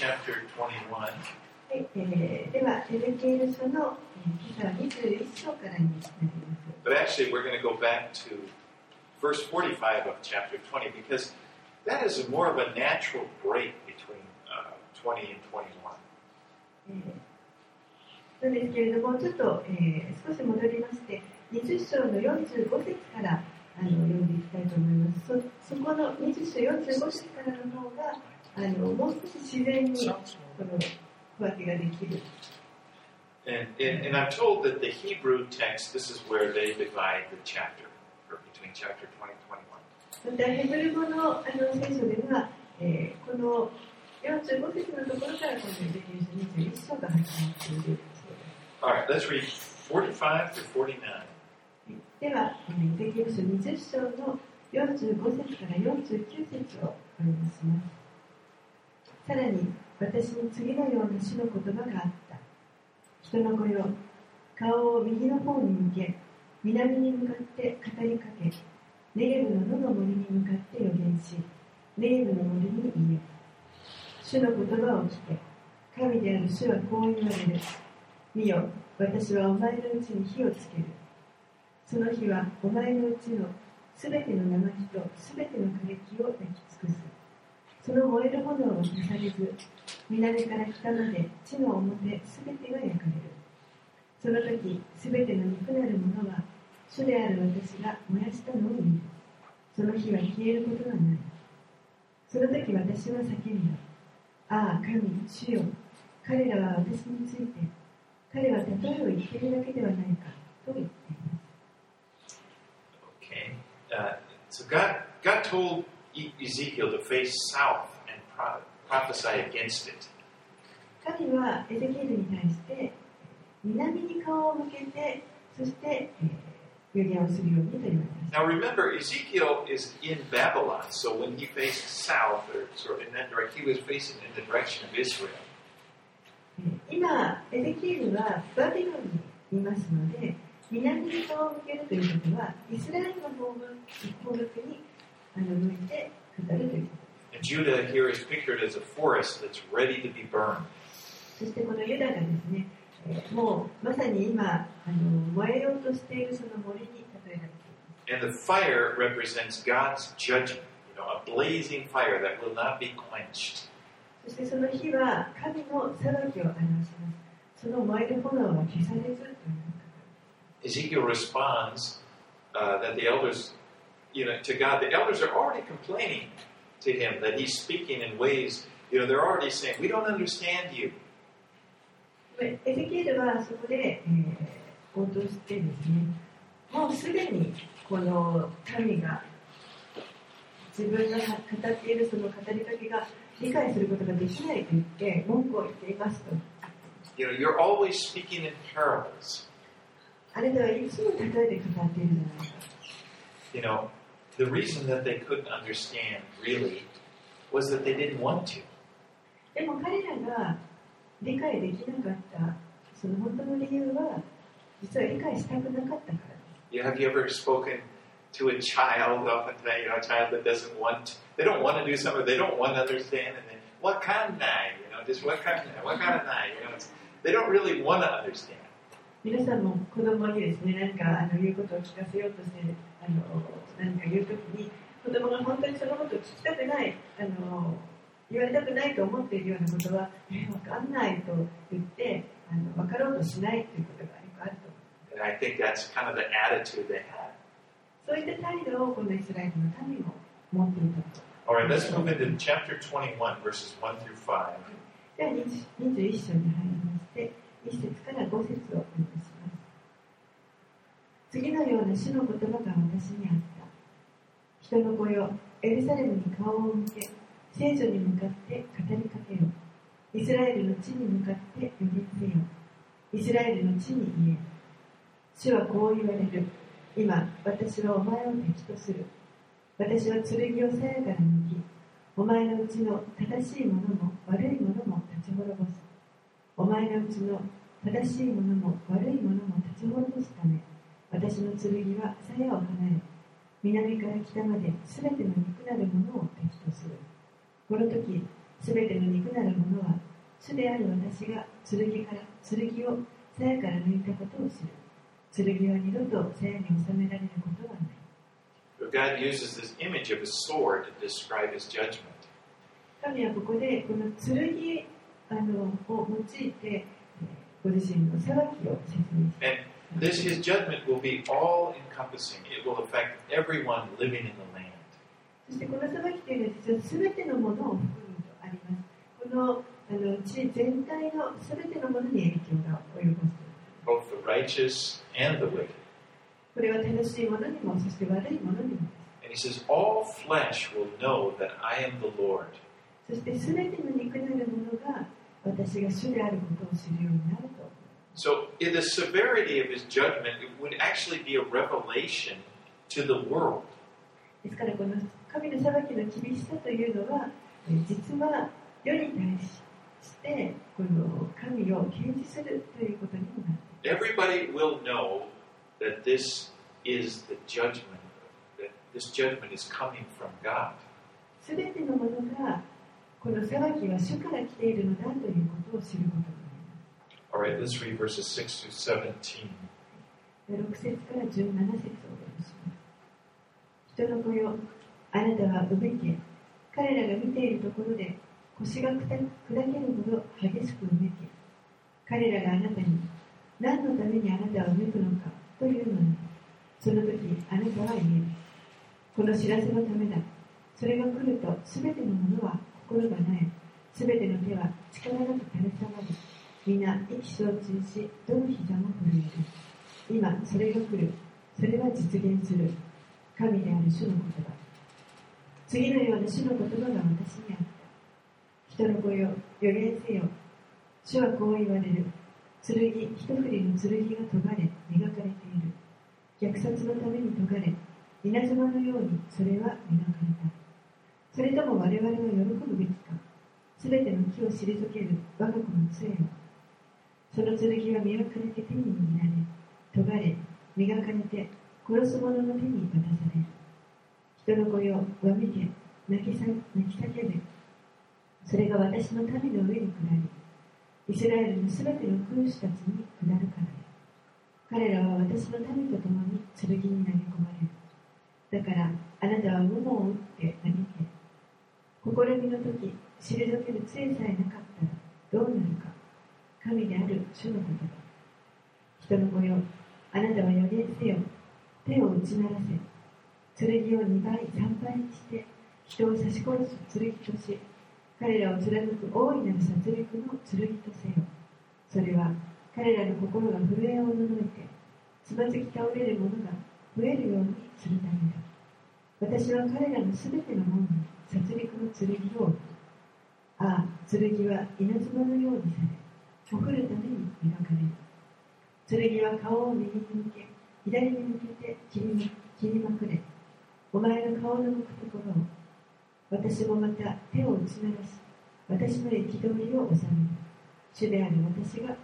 chapter 21. はい、では、エゼキエル書の今朝は21章からになります。 But actually, we're going to go back to verse 45 of chapter 20 because that is more of a natural break between 20 and 21. なんですけれども、ちょっと、少し戻りまして、20章の45節から読んでいきたいと思います。そこの20章45節からの方がもう少し自然にこの区分けができる。 And I'm told that the Hebrew text, this is where they divide the chapter, or between chapter 20 and 21. またヘブル語の聖書では、この45節のところからこのエゼキエル書21章が始まっている。 Alright, let's read 45 to 49. では、エゼキエル書20章の45節から49節をお読みします。さらに、私に次のような主の言葉があった。人の子よ、顔を右の方に向け、南に向かって語りかけ、ネゲブの野の森に向かって予言し、ネゲブの森に言え。主の言葉を聞け。神である主はこう言われる。見よ、私はお前のうちに火をつける。その火はお前のうちのすべての生火とすべての枯れ木を焼き尽くす。その燃える炎を消されず、南から北まで地の表すべてが焼かれる。その時、すべての肉なるものは、主である私が燃やしたのを見る。その火は消えることはない。その時私は叫んだ。ああ、神、主よ、彼らは私について、彼は例えを言っているだけではないか、と言っています。 Okay. So God told Ezekiel to face south and prophesy against it. 神はエゼキエルに対して南に顔を向けて、そして予言をするようにと言われます。 Now remember, Ezekiel is in Babylon, so when he faced south, or sort of in that direction, he was facing in the direction of Israel. 今、エゼキエルはバビロンにいますので、南に顔を向けるということは、イスラエルの方角に向いて語るということです。 And Judah here is pictured as a forest that's ready to be burned. そしてこのユダがですね、もうまさに今燃えようとしているその森に例えられています。 And the fire represents God's judgment, a blazing fire that will not be quenched. そしてその火は神の裁きを表します。その燃える炎は消されずという Ezekiel responds that the elders, to God, the elders are already complaining to him that he's speaking in ways, they're already saying, we don't understand you. エゼキエルはそこで、応答してですね、もうすでにこの神が自分が語っているその語りかけが理解することができないと言って文句を言っていますと。 You're always speaking in parables. あなたはいつも例えて語っているじゃないか。 The reason that they couldn't understand really was that they didn't want to. でも彼らが理解できなかったその本当の理由は実は理解したくなかったからです。 Have you ever spoken to a child, often a child that doesn't want, they don't want to do something, they don't want to understand, and then, what kind of just what kind of they don't really want to understand. 皆さんも子供にですね、何か言うことを聞かせようとして何か言うときに子供が本当にそのことを聞きたくない言われたくないと思っているようなことは分かんないと言って分かろうとしないということがよくあると思います。 And I think that's kind of the attitude they had. そういった態度をこのイスラエルの民も持っていたと。 Alright, let's move into chapter 21, verses 1 through 5. では21章に入りまして1節から5節をお読みします。次のような主の言葉が私にあった。人の子よ、エルサレムに顔を向け、聖女に向かって語りかけよ。イスラエルの地に向かって予言せよ。イスラエルの地に言え。主はこう言われる。今、私はお前を敵とする。私は剣を鞘から抜き、お前のうちの正しいものも悪いものも立ち滅ぼす。お前のうちの正しいものも悪いものも立ち滅ぼすため、私の剣は鞘を離れ、南から北まで全ての肉なるものを敵とする。この時、全ての肉なるものは主である私が剣を鞘から抜いたことを知る。剣は二度と鞘に収められることはない。 God uses this image of a sword to describe his judgment. 神はここでこの剣を用いてご自身の裁きを説明します。 And his judgment will be all-encompassing. It will affect everyone living in the land. そしてこの裁きというのは実は全てのものを含むとあります。この地全体の全てのものに影響が及ぼす。 Both the righteous and the wicked. これは正しいものにも、そして悪いものにもです。 And he says, all flesh will know that I am the Lord. そして全ての肉なるものが私が主であることを知るようになると。 So, in the severity of his judgment, it would actually be a revelation to the world. ですからこの神の裁きの厳しさというのは、実は世に対してこの神を掲示するということにもなる。 Everybody will know that this is the judgment, that this judgment is coming from God. すべてのものがこの裁きは主から来ているのだということを知ることになります。 All right, let's read verses 6 through 17. 6節から17節をお読みします。人の子よ、あなたはうめけ、彼らが見ているところで腰が砕けるほど激しくうめけ、彼らがあなたに何のためにあなたはうめくのかというのに、その時あなたは言える。この知らせのためだ。それが来るとすべてのものは心がなえ、すべての手は力なく垂れ下がり、皆意気消沈し、どの膝も震える。今それが来る。それは実現する。神である主の言葉。次のような主の言葉が私にあった。人の子よ、予言せよ。主はこう言われる。一振りの剣が研がれ、磨かれている。虐殺のために研がれ、稲妻のようにそれは磨かれた。それとも我々は喜ぶべきか。すべての木を退ける我が子の杖を。その剣は磨かれて手に握られ、研がれ、磨かれて殺す者の手に渡される。人の子よ、わめけ、泣き叫べ。それが私の民の上に下り、イスラエルのすべての君主たちに下るからで。彼らは私の民と共に剣に投げ込まれる。だからあなたは矛を打って嘆け。試みの時、退ける杖さえなかったらどうなるか。神である主の言葉。人の子よ、あなたは予言せよ。手を打ち鳴らせ。剣を2倍、3倍にして人を刺し殺す剣とし、彼らを貫く大いなる殺戮の剣とせよ。それは彼らの心が震えをおののいて、つまずき倒れる者が増えるようにするためだ。私は彼らのすべての門に殺戮の剣を置く。ああ、剣は稲妻のようにされ、ほふるために磨かれる。剣は顔を右に向け、左に向けて切りまくれ。お前の顔の向くところを。私もまた手を打ち鳴らし、私の憤りを収める。主である私が語るのだ。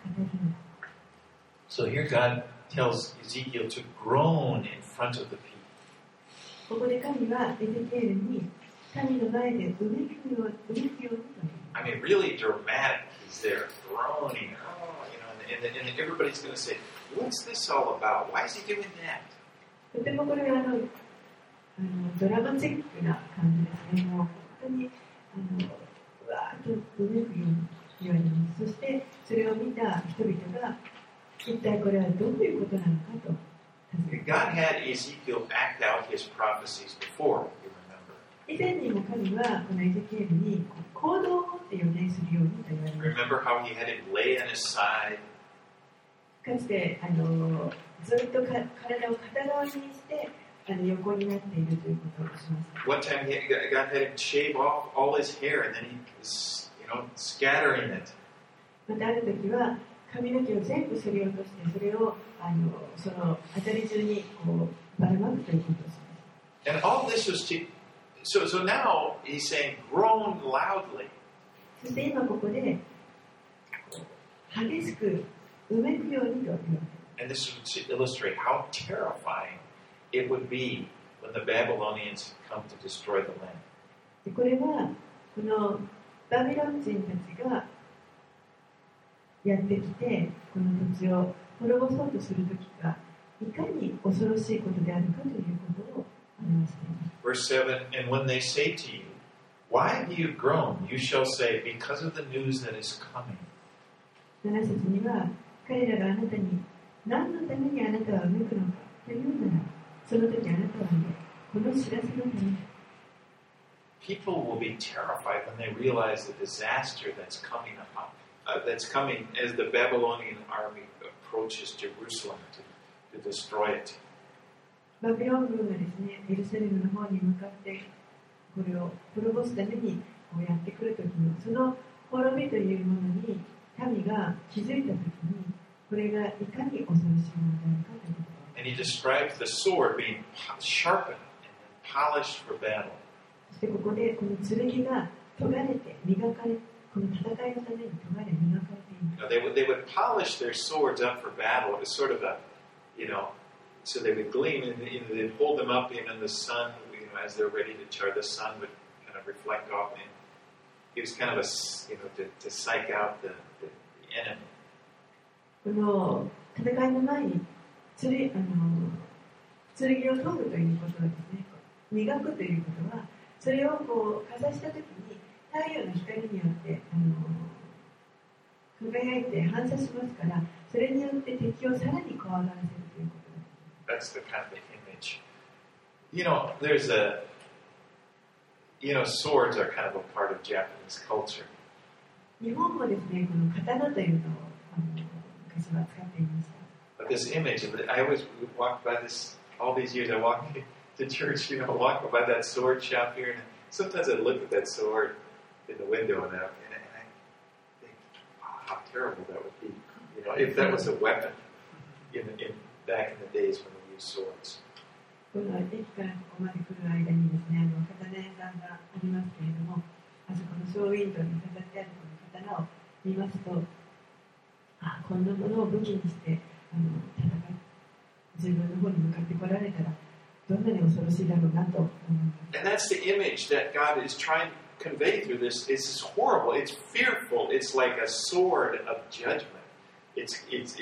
So here God tells Ezekiel to groan in front of the people. ここで神はエゼキエルに神の前でうめくようにと言います。 I mean, really dramatic. He's there groaning, and everybody's going to say, "What's this all about? Why is he doing that?" とてもこれはドラマチックな感じですね。もう本当にうわーっとうめくように言われます。そしてそれを見た人々が一体これはどういうことなのかと。 God had Ezekiel act out his prophecies before, you remember. 以前にも神はこのエゼキエルに行動を持って予言するようにと言われました。 Remember how he had him lay on his side? かつてずっと体を片側にして横になっているということをします。 One time God had him shave off all his hair and then he was, scattering it. またある時は髪の毛を全部剃り落としてそれをその辺り中にこうばらまくということをします。 And all this was so now he's saying, groan loudly. そして今ここで激しくうめくようにと言われています。 And this is to illustrate how terrifying it would be when the Babylonians come to destroy the land. これはこのバビロン人たちがやってきて、この土地を滅ぼそうとするときがいかに恐ろしいことであるかということを表しています。 Verse 7, and when they say to you, why do you groan? You shall say, because of the news that is coming. 7節には、彼らがあなたに何のためにあなたはうめくのかというなら、その時あなたはね、この知らせのため。 People will be terrified when they realize the disaster that's coming up, that's coming as the Babylonian army approaches Jerusalem to destroy it. バビロン軍がですね、エルサレムの方に向かってこれを滅ぼすためにこうやってくるときのその滅びというものに民が気づいたときにこれがいかに恐ろしいものであるかということ。 And he describes the sword being sharpened and polished for battle. そしてここでこの剣が研がれて磨かれ、この戦いのために研がれ磨かれています。 They would polish their swords up for battle. It was sort of a, so they would gleam and they'd hold them up in the sun, as they're ready to charge. The sun would kind of reflect off, and it was kind of a, to psych out the enemy. この戦いの前に剣を研ぐということはですね、磨くということはそれをこうかざしたときに太陽の光によって輝いて反射しますから、それによって敵をさらに怖がらせるということです。 That's the kind of image. There's swords are kind of a part of Japanese culture. 日本もですね、この刀というのを昔は使っていました。 But this image, I always walked by this all these years. I walked to church, walk by that sword shop here, and sometimes I look at that sword in the window, and I think, wow, how terrible that would be. If that was a weapon back in the days when we used swords. この駅からここまで来る間にですね、刀屋さんがありますけれども、あそこのショーウィンドウに飾ってあるこの刀を見ますと、こんなものを武器にして自分の方に向かって来られたらどんなに恐ろしいだろうなと思います。 And that's the image that God is trying to convey through this. It's horrible. It's fearful. It's like a sword of judgment. It's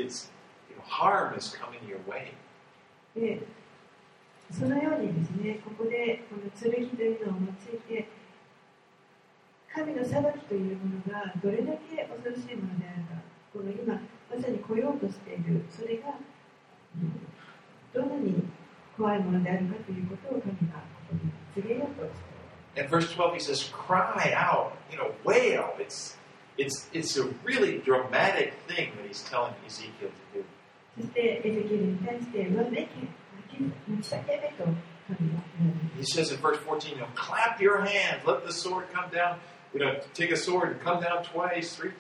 harm is coming your way. でそのようにですね、ここでこの剣というのを用いて神の裁きというものがどれだけ恐ろしいものであるか、この今まさに来ようとしているそれがどんなに怖いものであるかということを神がここに告げようとしている。 In verse 12 he says, cry out, wail. It's a really dramatic thing that he's telling Ezekiel to do. そしてエゼキエルに対してわめけ、泣き叫べと神が言われます。 He says in verse 14, clap your hands, let the sword come down. Take a sword and come down twice, three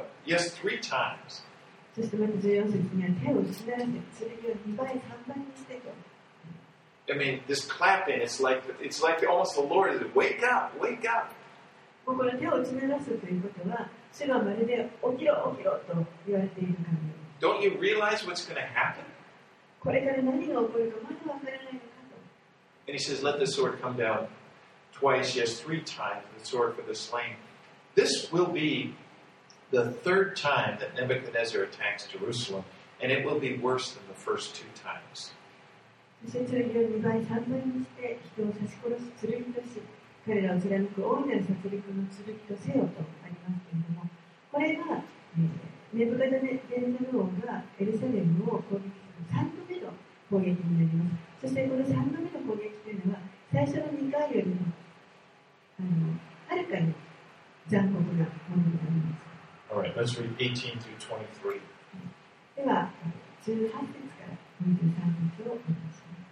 times. そしてまた14節には手をしならせ、剣を2倍、3倍にしてと。 I mean, this clapping, it's like almost the Lord is, wake up, wake up. この手を打ち鳴らすということは、主がまるで起きろ、起きろと言われているからです。 Don't you realize what's going to happen? これから何が起こるかまだわからないのかと。 And he says, let the sword come down twice, yes, 3 times, the sword for the slain. This will be the 3rd time that Nebuchadnezzar attacks Jerusalem, and it will be worse than the first 2 times. そして剣を2倍、3倍にして人を刺し殺す剣とし、彼らを貫く大いなる殺戮の剣とせよとありますけれども、これが、ネブカドネザル王がエルサレムを攻撃する3度目の攻撃になります。そしてこの3度目の攻撃というのは最初の2回よりもはるかに残酷なものになります。 Alright, let's read 18 through 23. では、18節から23節をお願いします。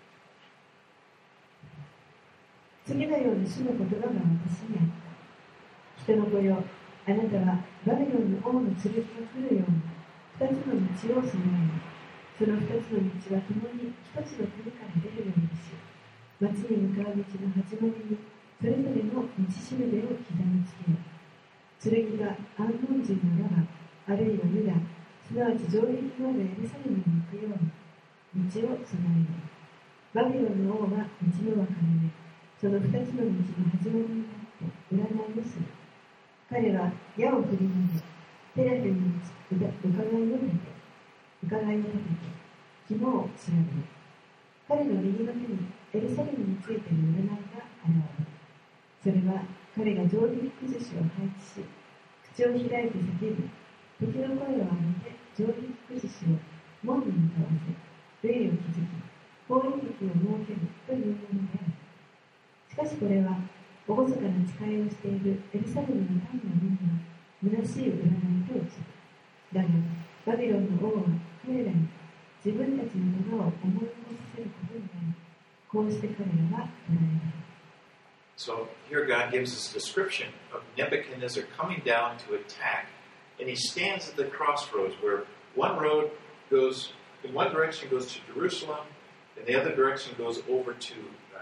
次のような主の言葉が私にあった。人の子よ、あなたはバビロンの王の剣が来るように2つの道を備えます。その2つの道はともに1つの国から出るようにし、町に向かう道の始まりにそれぞれの道しるべを刻みつけよ。剣がアンモン人のラバ、あるいはユダ、すなわち城壁のあるエルサレムに行くように道を備えよ。バビロンの王は道の分かれ目、その2つの道の始まりに立って占いをする。彼は矢を振り投げ、テラフに移肝を調べる。彼の右の手にエルサレムについている占いが現れる。それは彼が定規福祉を配置し、口を開いて叫ぶ、敵の声を上げて定規福祉を門に向かわせ、霊を築き、攻撃敵を設けるというものである。しかしこれは、厳かな誓いをしているエルサレムの民の目には、虚しい占いと映る。だが、バビロンの王は彼らに自分たちのものを思い起こさせることになり、こうして彼らは捕らえられる。 So here God gives us a description of Nebuchadnezzar coming down to attack, and he stands at the crossroads where one road goes in one direction goes to Jerusalem, and the other direction goes over to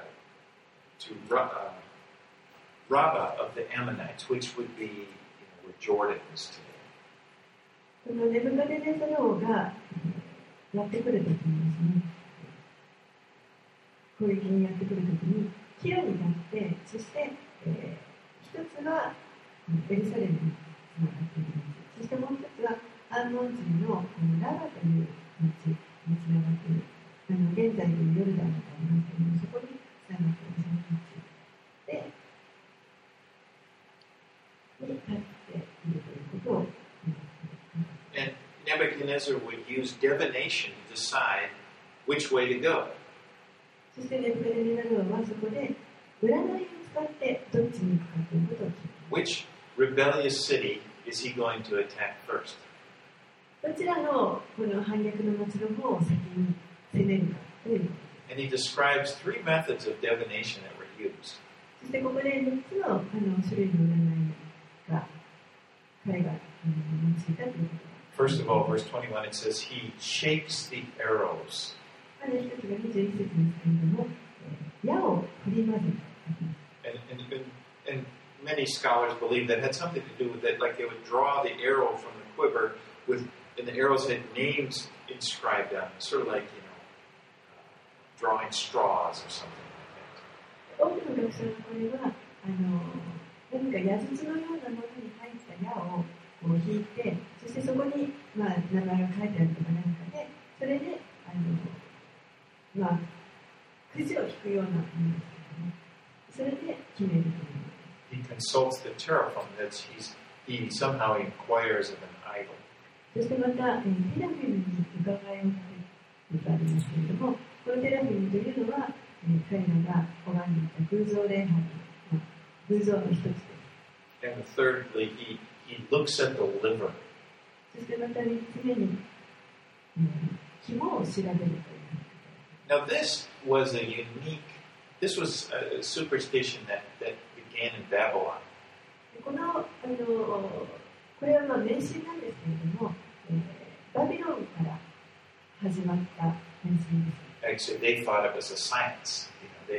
Rabbah of the Ammonites, which would be where Jordan is today. このネブカデネザル王がやってくるときにですね、攻撃にやってくるときに、キロに立って、そして、一つはエルサレムにつながっている町、そしてもう一つはアンノン人のラバという町につながっている。現在のヨルダンとかありますけれども、そこにつながっているその町で、に立っているということを。 And Nebuchadnezzar would use divination to decide which way to go. そしてネブカデネザル王はそこで占いを使ってどっちに行くかということを決めます。 Which rebellious city is he going to attack first? どちらのこの反逆の町の方を先に攻めるかということです。 And he describes three methods of divination that were used. そしてここで3つの種類の占いが彼が用いたということです。 First of all, verse 21, it says, he shakes the arrows. まず一つが21節ですけれども、矢を振り混ぜた。 And many scholars believe that had something to do with it, like they would draw the arrow from the quiver, and the arrows had names inscribed on them, sort of like, drawing straws or something like that. 多くの学者はこれは何か矢筒のようなものに入った矢を引いて、そしてそこに、名前が書いてあるとか何かで、それでくじを引くようなものですけどね、それで決めるという。 He consults the teraphim that he somehow inquires of an idol. そしてまた、テラフィムに伺いをかけるとありますけれども、このテラフィムというのは、彼らが拝んでいた偶像礼拝、偶像の一つです。 And thirdly, he looks at the liver. そしてまた3つ目に、肝を調べるという。 Now this was a superstition that began in Babylon. これは迷信なんですけれども、バビロンから始まった迷信です。 Actually, they thought it was a science.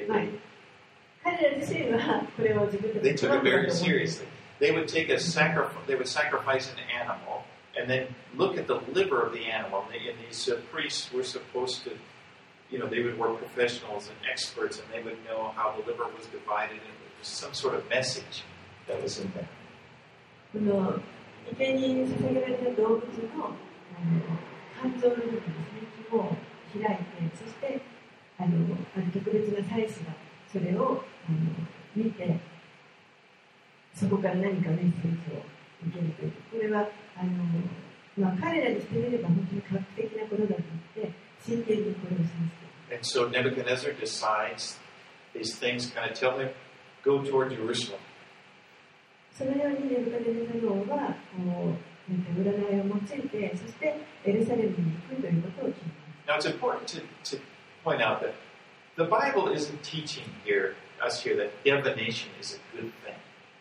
They took it very seriously. They would sacrifice an animal and then look at the liver of the animal. And these priests were supposed to, they would work professionals and experts, and they would know how the liver was divided, and there was some sort of message that was in there. この生贄に捧げられた動物の肝臓の部分ですね、肝を開いて、そしてある特別な祭司がそれを見て、そこから何かメッセージを受けるという。これは彼らにしてみれば本当に画期的なことだと言って真剣にこれをします。 And so Nebuchadnezzar decides these things kind of tell him, go toward Jerusalem. そのようにネブカデネザル王は占いを用いて、そしてエルサレムに行くということを決めます。 Now it's important to point out that the Bible isn't teaching us here that divination is a good thing.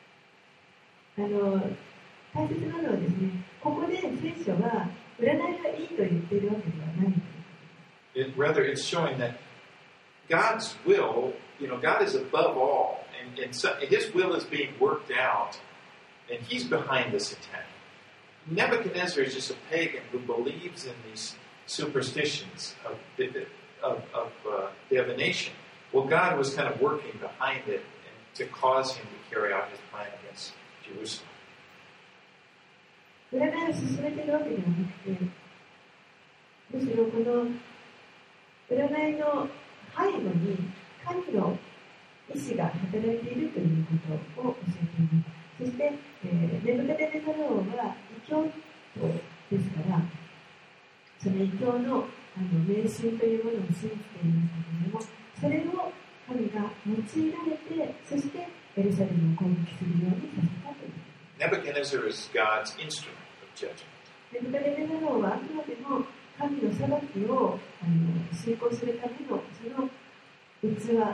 大切なのはですね、ここで聖書は占いがいいと言っているわけではないということです。 Rather, it's showing that God's will, God is above all, and so His will is being worked out, and He's behind this attack. Nebuchadnezzar is just a pagan who believes in these superstitions of divination. Well, God was kind of working behind it to cause him to carry out his plan against Jerusalem. 占いを進めているわけではなくて、むしろこの占いの背後に神の意志が働いているということを教えています。そして、ネブカデネザル王は異教徒ですから、その異教の迷信というものを信じていましたけれども、それを神が用いられて、そしてエルサレムを攻撃するようにさせたという。 Nebuchadnezzar is God's instrument of judgment. ネブカデネザル王はあくまでも神の裁きを遂行するためのその器にする。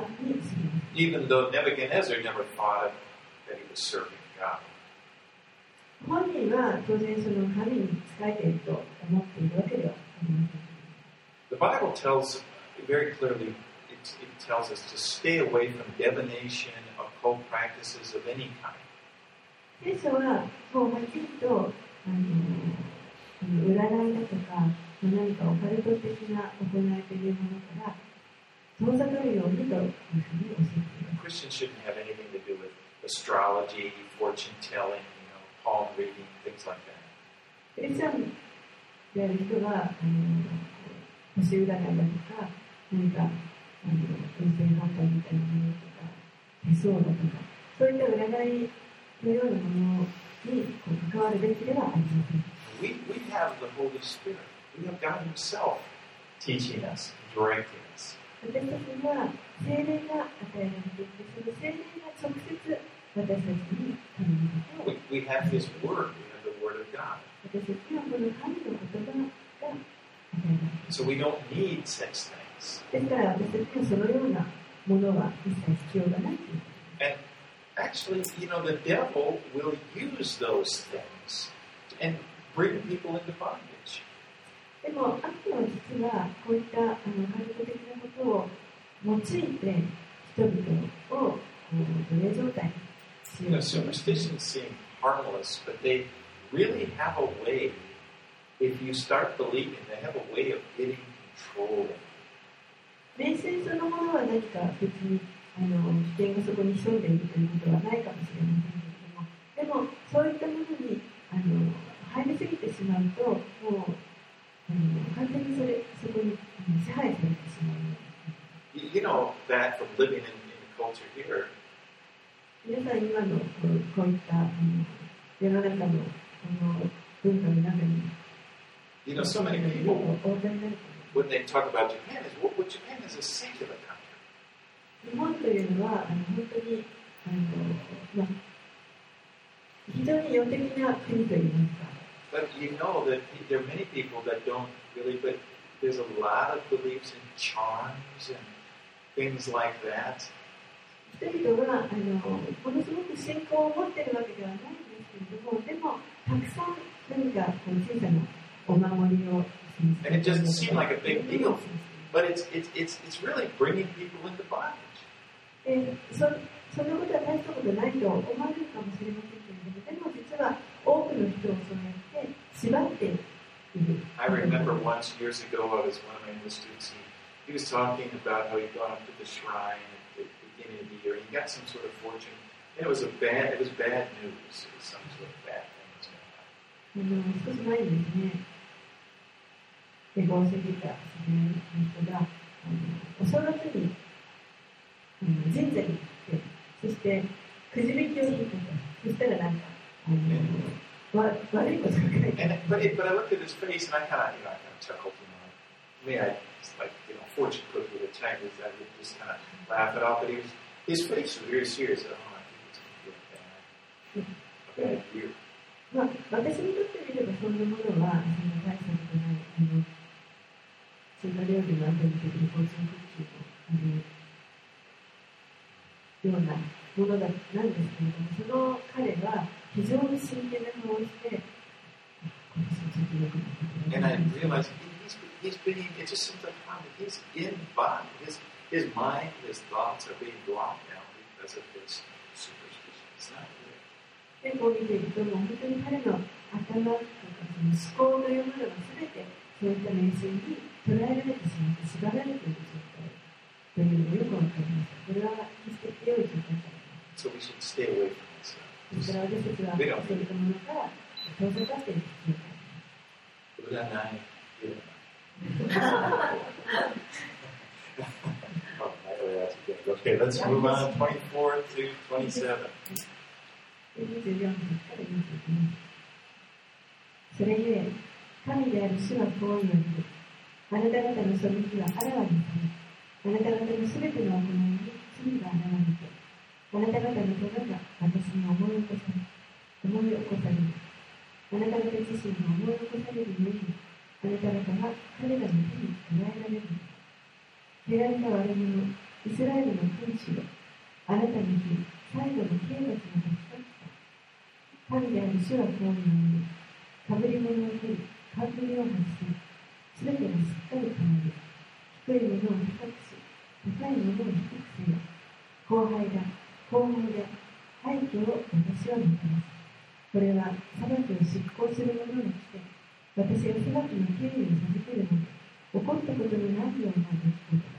Even though Nebuchadnezzar never thought that he was serving God. 本人は当然その神に仕えていると思っているわけではありません。 The Bible tells very clearly, it tells us to stay away from divination, occult practices of any kind. 聖書はもうはっきりと占いだとか何かオカルト的な行いというものから遠ざかるようにというふうに教えています。 Christians shouldn't have anything to do with astrology, fortune telling, palm reading, things like that. クリスチャンである人は星占いだとか何か運勢判断みたいなものとか手相だとかそういった占いのようなものに関わるべきではありません。 We have the Holy Spirit. We have God Himself teaching us, directing us. 私たちには聖霊が与えられていて、その聖霊が直接私たちに神のことを。 We have His Word. We have the Word of God. 私たちはこの神の言葉が与えられている。 So we don't need such things. ですから私たちはそのようなものは一切必要がないという。 And actually, the devil will use those things and bring people into bondage. でも、悪魔は実はこういったカルト的なことを用いて人々を奴隷状態にしようと。 Superstitions seem harmless, but they really have a way, if you start believing, they have a way of getting control. 迷信そのものは何か別に危険がそこに潜んでいるということはないかもしれませんけれども、でもそういったものに入りすぎてしまうと、もう完全にそこに支配されてしまう。 You know that from living in the culture here. 皆さん今のこういった世の中の文化の中に、 So many people, when they talk about Japan, Japan is a secular country. 日本というのは本当に非常に世的な国といいますか。 But you know that there are many people that don't really, but there's a lot of beliefs in charms and things like that. 人々はものすごく信仰を持っているわけではないんですけれども、でもたくさん何か小さなお守りを And it doesn't seem like a big deal, but it's really bringing people into bondage. そんなことは大したことないと思われるかもしれませんけれども、でも実は多くの人をそうやって縛っている。 I remember once years ago, I was one of my English students. He was talking about how he'd gone up to the shrine at the beginning of the year. He got some sort of fortune, and it was bad news. It was some sort of bad thing. 少し前にですね、エゴをしていた人がお正月に神社に行って、そしてくじ引きを引いたと。そしたらなんか悪いことが書いてある。 But I looked at his face and I kind of chuckled. I mean, it's like fortune cookie with a Chinese. I would just kind of laugh it off. But his face was very serious. I think it's going to be a bad year. 私にとってみればそんなものはそんな大したことないそんな料理の後に出てくるフォーチュンクッキーのようなものなんですけれども、その彼は非常に真剣な顔をして今年はちょっと良くなった。 And I realized he's being, it just seems like he's in bondage. His mind, his thoughts are being blocked now because of this superstition. It's not good. でこう見ていると、もう本当に彼の頭とかその思考というものが全てそういった迷信に捉えられてしまって縛られている状態というのがよくわかります。これは決して良い状態ではない。 So we should stay away from this. ですから私たちはそういったものから遠ざかっている必要があります。 Okay, let's move on. 24 to 27. それゆえ、神である主はこう言われる。あなた方の背きはあらわにされ、あなた方のすべての行いに罪が現れて、あなた方の手が私に思い起こされる。あなた方自身が思い起こされるゆえに、あなた方は彼らの手に捕らえられる。汚れた悪者、イスラエルの君主よ、あなたの日、最後の刑罰の時が来た。神である主はこう言われる。かぶり物を取り、冠を外し、すべてがしっかり変わる。低いものを高くし、高いものを低くせよ。荒廃だ、廃墟を私はもたらす。これは裁きを執行する者が来て、私が裁きの権利を授けるので、起こったことのないような出来事だ。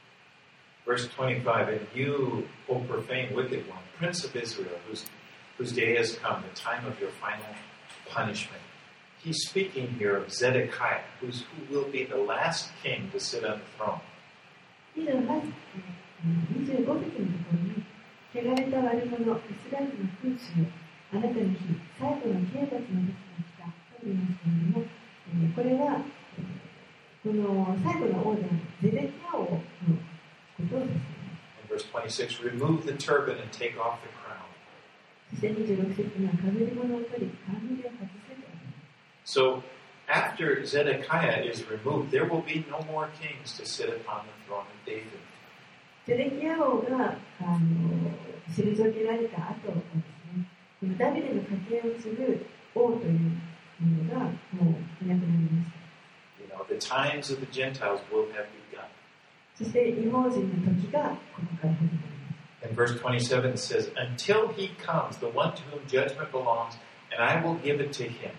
Verse 25, and you, O profane wicked one, Prince of Israel, whose day has come, the time of your final punishment. He's speaking here of Zedekiah, who will be the last king to sit on the throne. 25節のところに、汚れた悪者、イスラエルの君主よ、あなたの日、最後の刑罰の時が来たと言いますけれども、これは、この最後の王であるゼデキヤ王のことをですね。 In verse 26, remove the turban and take off the crown. そして26節には、かぶり物を取り、冠を外せと。 So, after Zedekiah is removed, there will be no more kings to sit upon the throne of David. ゼデキヤ王が退けられた後ですね、ダビデの家系を継ぐ王というものがもういなくなりました。 You know, the times of the Gentiles will have begun. そして異邦人の時がここから始まります。 And verse 27 says, until he comes, the one to whom judgment belongs, and I will give it to him.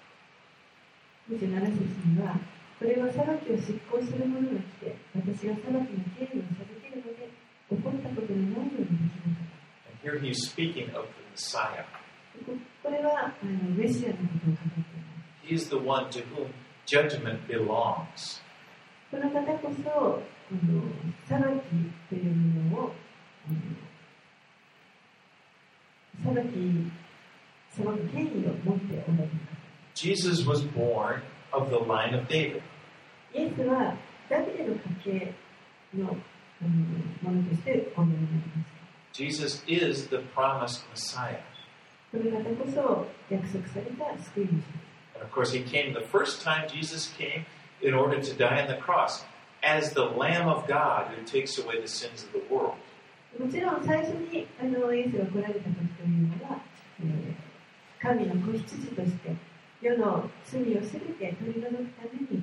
27節には、これは裁きを執行する者が来て、私が裁きの権利を授けるので、起こったことのないようにできるか。 And here he's speaking of the Messiah. これはメシアのことを語っています。 He is the one to whom judgment belongs. この方こそ、裁きというものを、裁く権威を持っておられる方。 Jesus was born of the line of David. イエスはダビデの家系のものとしてお生まれになりました。 Jesus is the promised Messiah. この方こそ約束された救い主です。 And of course, he came the first time Jesus came in order to die on the cross as the Lamb of God who takes away the sins of the world. もちろん最初にイエスが来られた時というのは、神の子羊として世の罪をすべて取り除くために、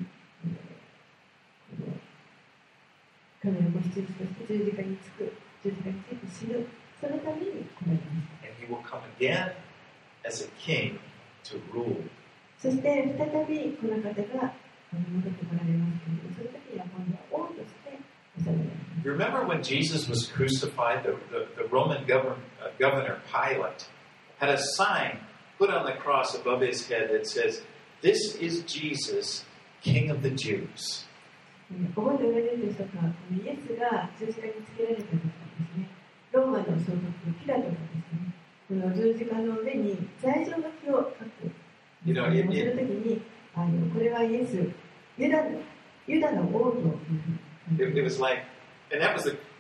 神の子羊として十字架について死ぬ、そのために来られました。 And he will come again as a king to rule. そして再びこの方が戻ってこられますけれども、その時には今度は王として治められます。 You remember when Jesus was crucified, the Roman governor Pilate had a sign put on the cross above his head that says, "This is Jesus, King of the Jews." 覚えておられるでしょうか。イエスが十字架につけられた時にですね、ローマの総督ピラトがですね、この十字架の上に罪状書きを書く。その時にこれはイエス、ユダの王というふうに。 It was like, and that was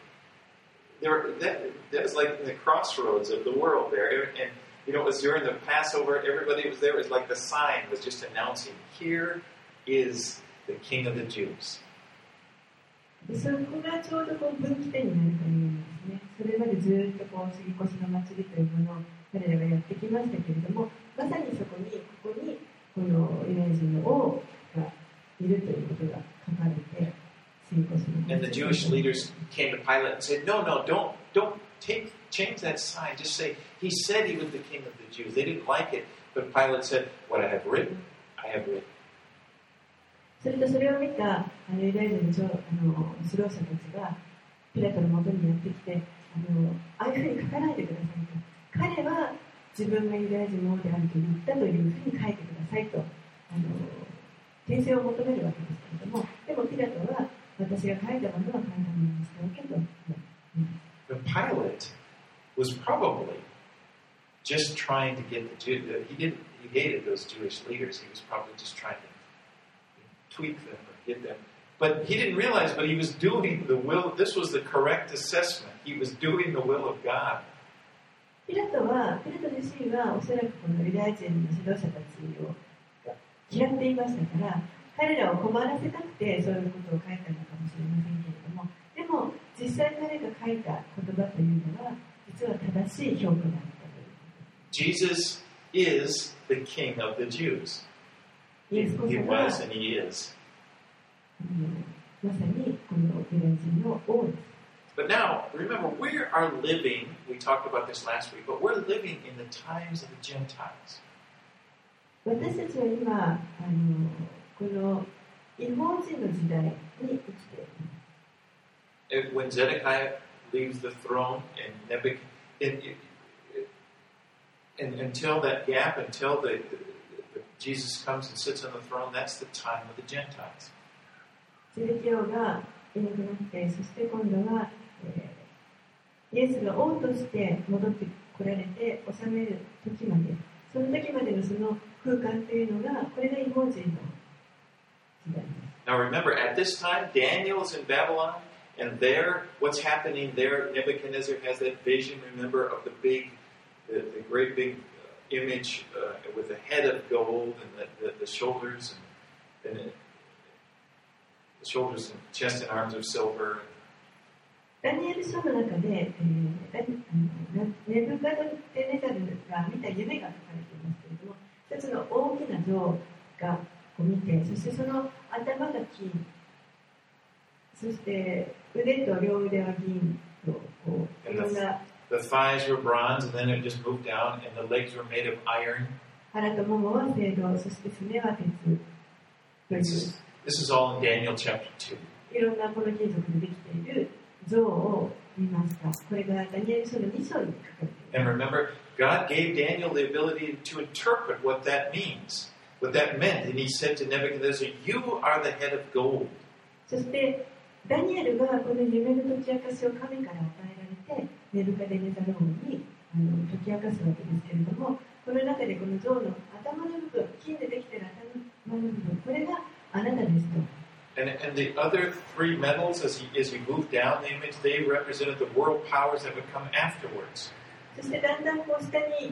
that was like in the crossroads of the world there, and you know, it was during the Passover. Everybody was there. It was like the sign was just announcing, "Here is the King of the Jews." そこがちょうどこう分岐点になるというんですね。それまでずっとこう杉越の祭りというものを彼らがやってきましたけれども、まさにここにこのユダヤ人の王がいるということが書かれて、杉越の祭り。 And the Jewish leaders came to Pilate and said, "No, don't change that sign. Just say he said he was the King of the Jews." They didn't like it, but Pilate said, "What I have written, I have written." それとそれを見たユダヤ人の指導者たちがピラトの元にやってきて、ああいうふうに書かないでくださいと。彼は自分がユダヤ人の王であると言ったというふうに書いてくださいと訂正を求めるわけですけれども、でもピラトは私が書いたものは書いたものにしておけと。 But Pilate was probably just trying to get the Jews. He hated those Jewish leaders. He was probably just trying to tweak them or get them. But he didn't realize, but he was doing the will. This was the correct assessment. He was doing the will of God. ピラト自身はおそらくこのユダヤ人の指導者たちを嫌っていましたから、彼らを困らせたくてそういうことを書いたのかもしれませんけれども、でも実際彼が書いた言葉というのは実は正しい評価だったということ。 Jesus is the King of the Jews. He was and he is. まさにこのユダヤ人の王です。 But now, remember, we are living, we talked about this last week, but we're living in the times of the Gentiles. 私たちは今、この異邦人の時代に生きています。 When Zedekiah leaves the throne and until that gap, until Jesus comes and sits on the throne, that's the time of the Gentiles. ゼデキヤがいなくなって、そして今度は、イエスが王として戻ってこられて治める時まで、その時までのその空間というのが、これが異邦人の時代です。 Now remember, at this time, Daniel's in Babylon, and there, what's happening there, Nebuchadnezzar has that vision, remember, of the great big image with the head of gold and the shoulders and the shoulders and chest and arms of silver. ダニエル書の中で、ネブカドネザルが見た夢が書かれていますけれども、一つの大きな像が見て、そしてその頭が金、そして腕と両腕は銀とこういろんな。 The thighs were bronze, and then it just moved down, and the legs were made of iron. 腹とももは青銅、そしてすねは鉄という。 This is all in Daniel chapter 2. いろんなこの金属でできている像を見ました。これがダニエル書の2章に書かれています。 And remember, God gave Daniel the ability to interpret what that means, what that meant. And he said to Nebuchadnezzar, "You are the head of gold." そしてダニエルがこの夢の解き明かしを神から与えられて、ネブカデネザル王に解き明かすわけですけれども、この中でこの像の頭の部分、金でできている頭の部分、これがあなたですと。 And the other three metals, as you move down the image, they represented the world powers that would come afterwards. そしてだんだんこう下に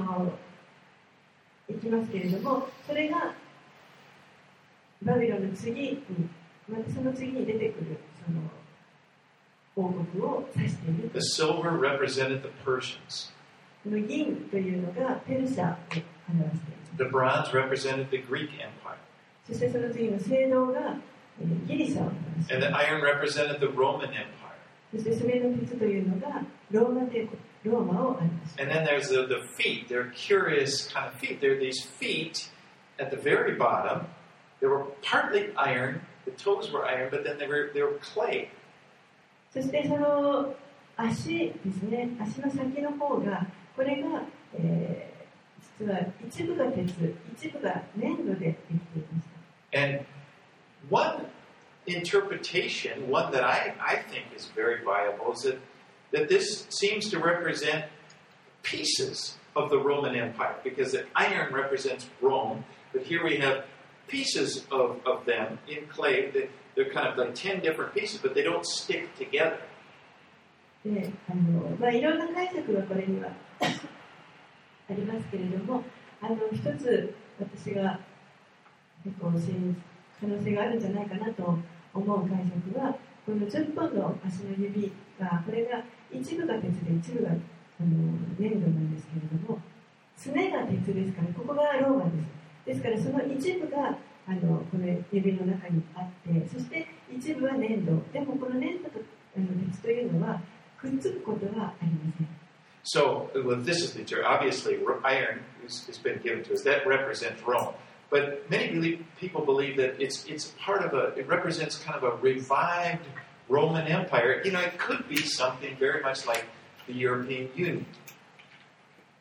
行きますけれども、それがバビロンの次に、またその次に出てくるその王国を指している。 The silver represented the Persians. この銀というのがペルシャを表している。 The bronze represented the Greek Empire. そしてその次の青銅がギリシャを表している。 And the iron represented the Roman Empire. そしてそれの鉄というのがローマ帝国、ローマを表している。 And then there's the feet. They're curious kind of feet. There are these feet at the very bottom. They were partly iron. The toes were iron, but then they were clay. そしてその足ですね、足の先の方が、これが、実は一部が鉄、一部が粘土でできていました。 And one interpretation, one that I think is very viable, is that this seems to represent pieces of the Roman Empire, because the iron represents Rome, but here we have pieces of them in clay. They're kind of like 10 different pieces, but they don't stick together. でいろんな解釈がこれにはありますけれども、一つ私が結構可能性があるんじゃないかなと思う解釈は、この10本の足の指が、これが一部が鉄で一部が粘土なんですけれども、すねが鉄ですから、ここがローマです。ですからその一部がこの指の中にあって、そして一部は粘土。でもこの粘土と鉄というのはくっつくことはありません。 So, well, this is the obviously iron has been given to us. That represents Rome. But many people believe that it's part of it represents kind of a revived Roman Empire. You know, it could be something very much like the European Union.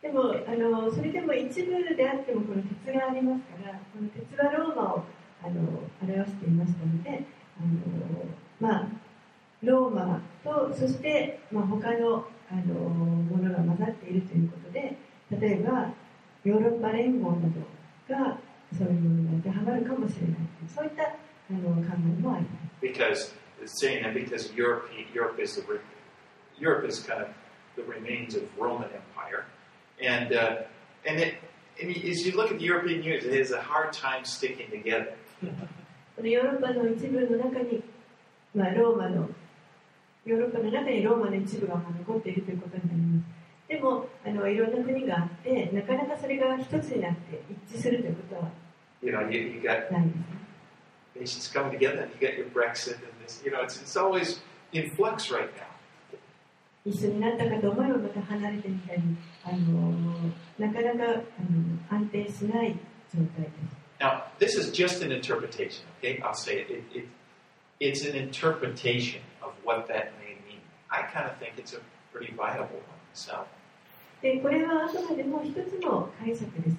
でもそれでも一部であってもこの鉄がありますから、この鉄はローマを表していましたので、ローマとそして、他のものが混ざっているということで、例えばヨーロッパ連合などがそういうものに当てはまるかもしれない、そういった考えもあります。 Because it's saying that because Europe is kind of the remains of Roman Empire, and as you look at the European Union, it has a hard time sticking together. このヨーロッパの一部の中に、ヨーロッパの中にローマの一部が残っているということになります。でもいろんな国があって、なかなかそれが一つになって一致するということはないですね。 Nations coming together, and you get your Brexit, and this, it's always in flux right now. 一緒になったかと思えばまた離れてみたり、なかなか安定しない状態です。 Now, this is just an interpretation, okay? I'll say it. It's an interpretation of what that may mean. I kind of think it's a pretty viable one myself. で、これはあくまでも一つの解釈です。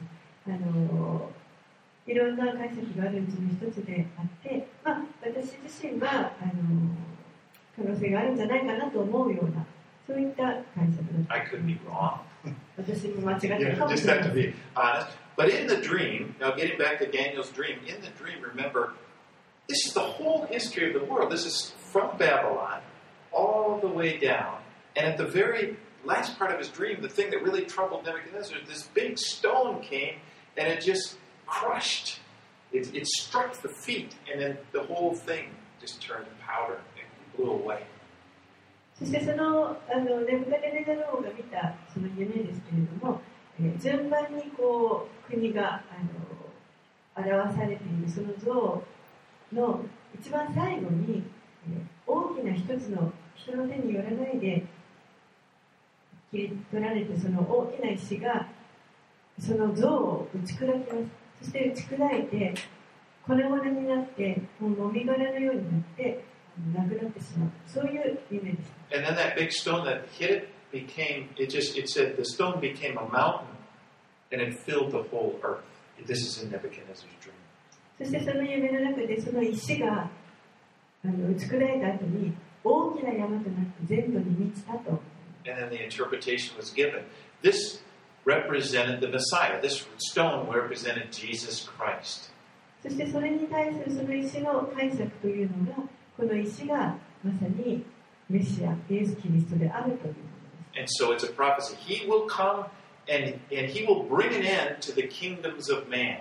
いろんな解釈があるうちの一つであって、私自身は可能性があるんじゃないかなと思うような、そういった解釈です。 I could be wrong. 私も間違ってるかもしれない。 Just have to be honest. But in the dream, now getting back to Daniel's dream, in the dream, remember, this is the whole history of the world. This is from Babylon all the way down. And at the very last part of his dream, the thing that really troubled Nebuchadnezzar, this big stone came and it just crushed. It struck the feet, and then the whole thing just turned to powder and blew away. そしてネブカデネザル王が見たその夢ですけれども、順番に国が表されているその像の一番最後に、大きな一つの人の手によらないで切り取られて、その大きな石がその像を打ち砕きます。そして打ち砕いて粉々になって、もうもみ殻のようになってなくなってしまう、そういう夢でした。 And then that big stone that hit it became, it said the stone became a mountain and it filled the whole earth. This is in Nebuchadnezzar's dream. そしてその夢の中でその石が打ち砕いた後に大きな山となって全土に満ちたと。 And then the interpretation was given. This represented the Messiah. This stone represented Jesus Christ. そしてそれに対するその石の解釈というのが、この石がまさにメシア、イエス・キリストであるということです。 And so it's a prophecy. He will come and he will bring an end to the kingdoms of man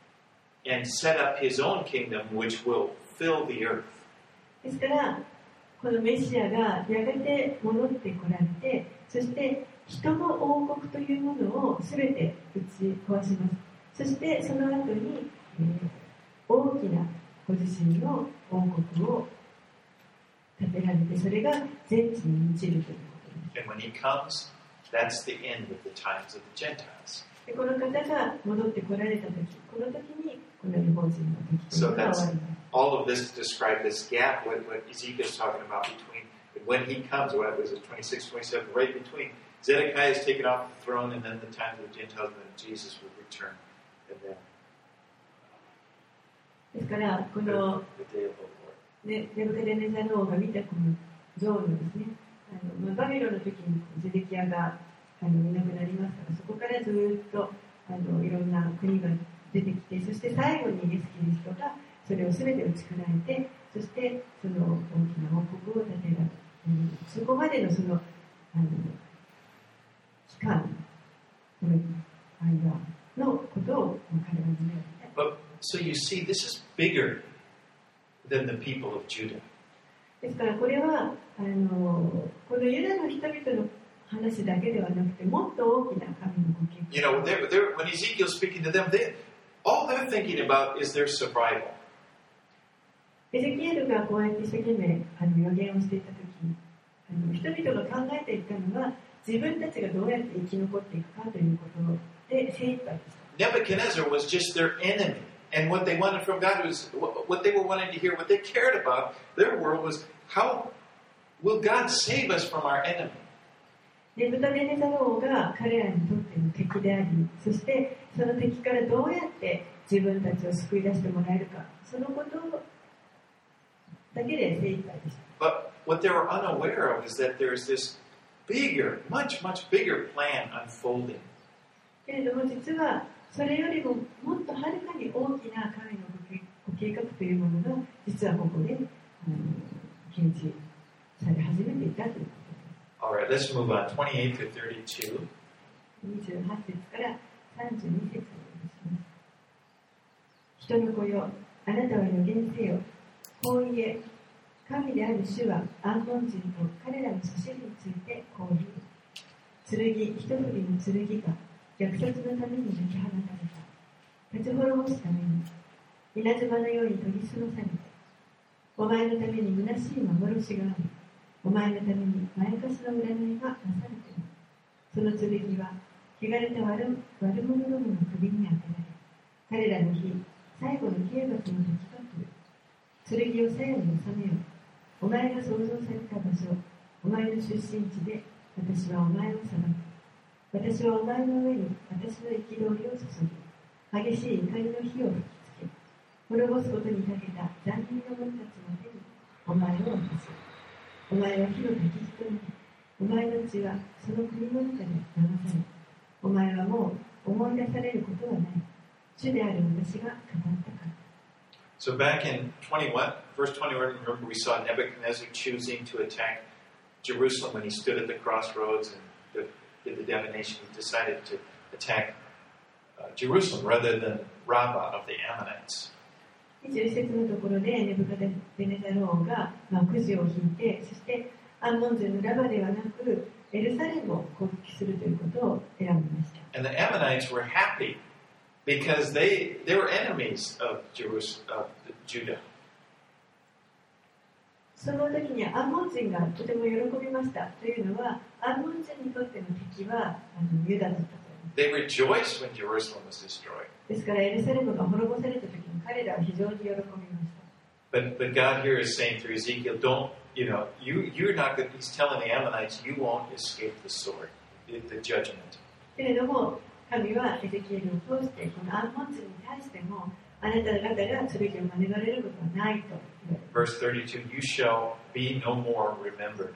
and set up his own kingdom which will fill the earth. ですから、このメシアがやがて戻ってこられて、そして人の王国というものをすべて打ち壊します。そしてその後に、大きなご自身の王国を建てられて、それが全地に満ちるということです。 And when he comes, that's the end of the times of the Gentiles. でこの方が戻ってこられたとき、この時にこの違法人の時というのが終わります。 All of this to describe this gap, what Ezekiel is talking about between when he comes, what was it, 26, 27, right between Zedekiah is taken off the throne, and then the time of the Gentiles, and then Jesus will return, and then ですからこの the day of the Lord. ネブカデネザル王が見たこの像のですね、バビロンの時にゼデキヤがいなくなりますから、そこからずっといろんな国が出てきて、そして最後にイエス・キリストがそれを全て打ち砕いて、そしてその大きな王国を建てられる、そこまでのその期間の間のことを彼は見られて。 But so you see, this is bigger than the people of Judah. ですからこれはこのユダの人々の話だけではなくて、もっと大きな神のご計画。 You know, when Ezekiel's speaking to them, all they're thinking about is their survival. エゼキエルがこうやって一生懸命予言をしていたとき、人々が考えていたのは自分たちがどうやって生き残っていくかということで精一杯でした。 Nebuchadnezzar was just their enemy. And what they wanted from God was, what they were wanting to hear, what they cared about, their world was, how will God save us from our enemy? ネブカデネザル王が彼らにとっての敵であり、そしてその敵からどうやって自分たちを救い出してもらえるか、そのことだけで精一杯でした。 But what they were unaware of is that there's this bigger, much bigger plan unfolding. けれども実はそれよりももっとはるかに大きな神のご計画というものが実はここで検知され始めていたということです。 Alright, let's move on. 28 to 32. 28節から32節をお読みします。人の子よ、あなたは予言せよ。こう言え、神である主はアンモン人と彼らの祖師についてこう言う。剣、一振りの剣が虐殺のために抜き放たれた。立ち滅ぼすために、稲妻のように研ぎ澄まされて、お前のために虚しい幻がある。お前のためにまやかしの占いがなされている。その剣は、汚れた悪者どもの首に当てられ、彼らの日、最後の刑罰の時が来る。剣を鞘に収めよう。お前が創造された場所、お前の出身地で、私はお前を裁く。私はお前の上に私の憤りを注ぎ、激しい怒りの火を吹きつけ、滅ぼすことに長けた残忍な者たちの手にお前を渡す。お前は火の焚き火となり、お前の血はその国の中で流され、お前はもう思い出されることはない。主である私が語ったから。 So back in verse 21, remember we saw Nebuchadnezzar choosing to attack Jerusalem when he stood at the crossroads and did the divination. He decided to attack Jerusalem rather than Rabbah of the Ammonites. 21節のところでネブカデネザル王がくじを引いて、そしてアンモン人のラバではなくエルサレムを攻撃するということを選びました。 And the Ammonites were happy because they were enemies of Judah. その時にアンモン人がとても喜びました。というのはアンモン人にとっての敵はユダだったと。 They rejoiced when Jerusalem was destroyed. ですからエルサレムが滅ぼされた時に彼らは非常に喜びました。 But God here is saying through Ezekiel, you're not going. He's telling the Ammonites, you won't escape the sword, the judgment. けれども神はエゼキエルを通してこのアンモン人に対してもあなた方が剣を免れることはないと言われます。 Verse 32, you shall be no more remembered.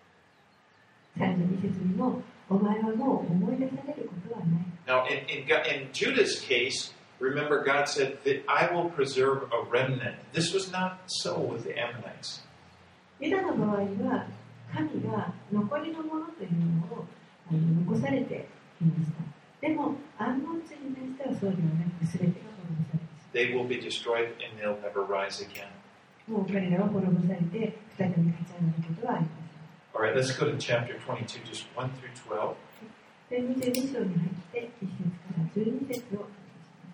32節にもお前はもう思い出されることはない。 Now, in Judah's case, remember God said that I will preserve a remnant. This was not so with the Ammonites. ユダの場合は神が残りのものというのを残されていました。でもアンモン人に対してはそうではなく全てが滅ぼされます。 They will be destroyed and they'll never rise again. もう彼らは滅ぼされて再び立ち上がることはありません。 All right, let's go to chapter 22, just 1 through 12. 22章に入って1節から12節をお読みします。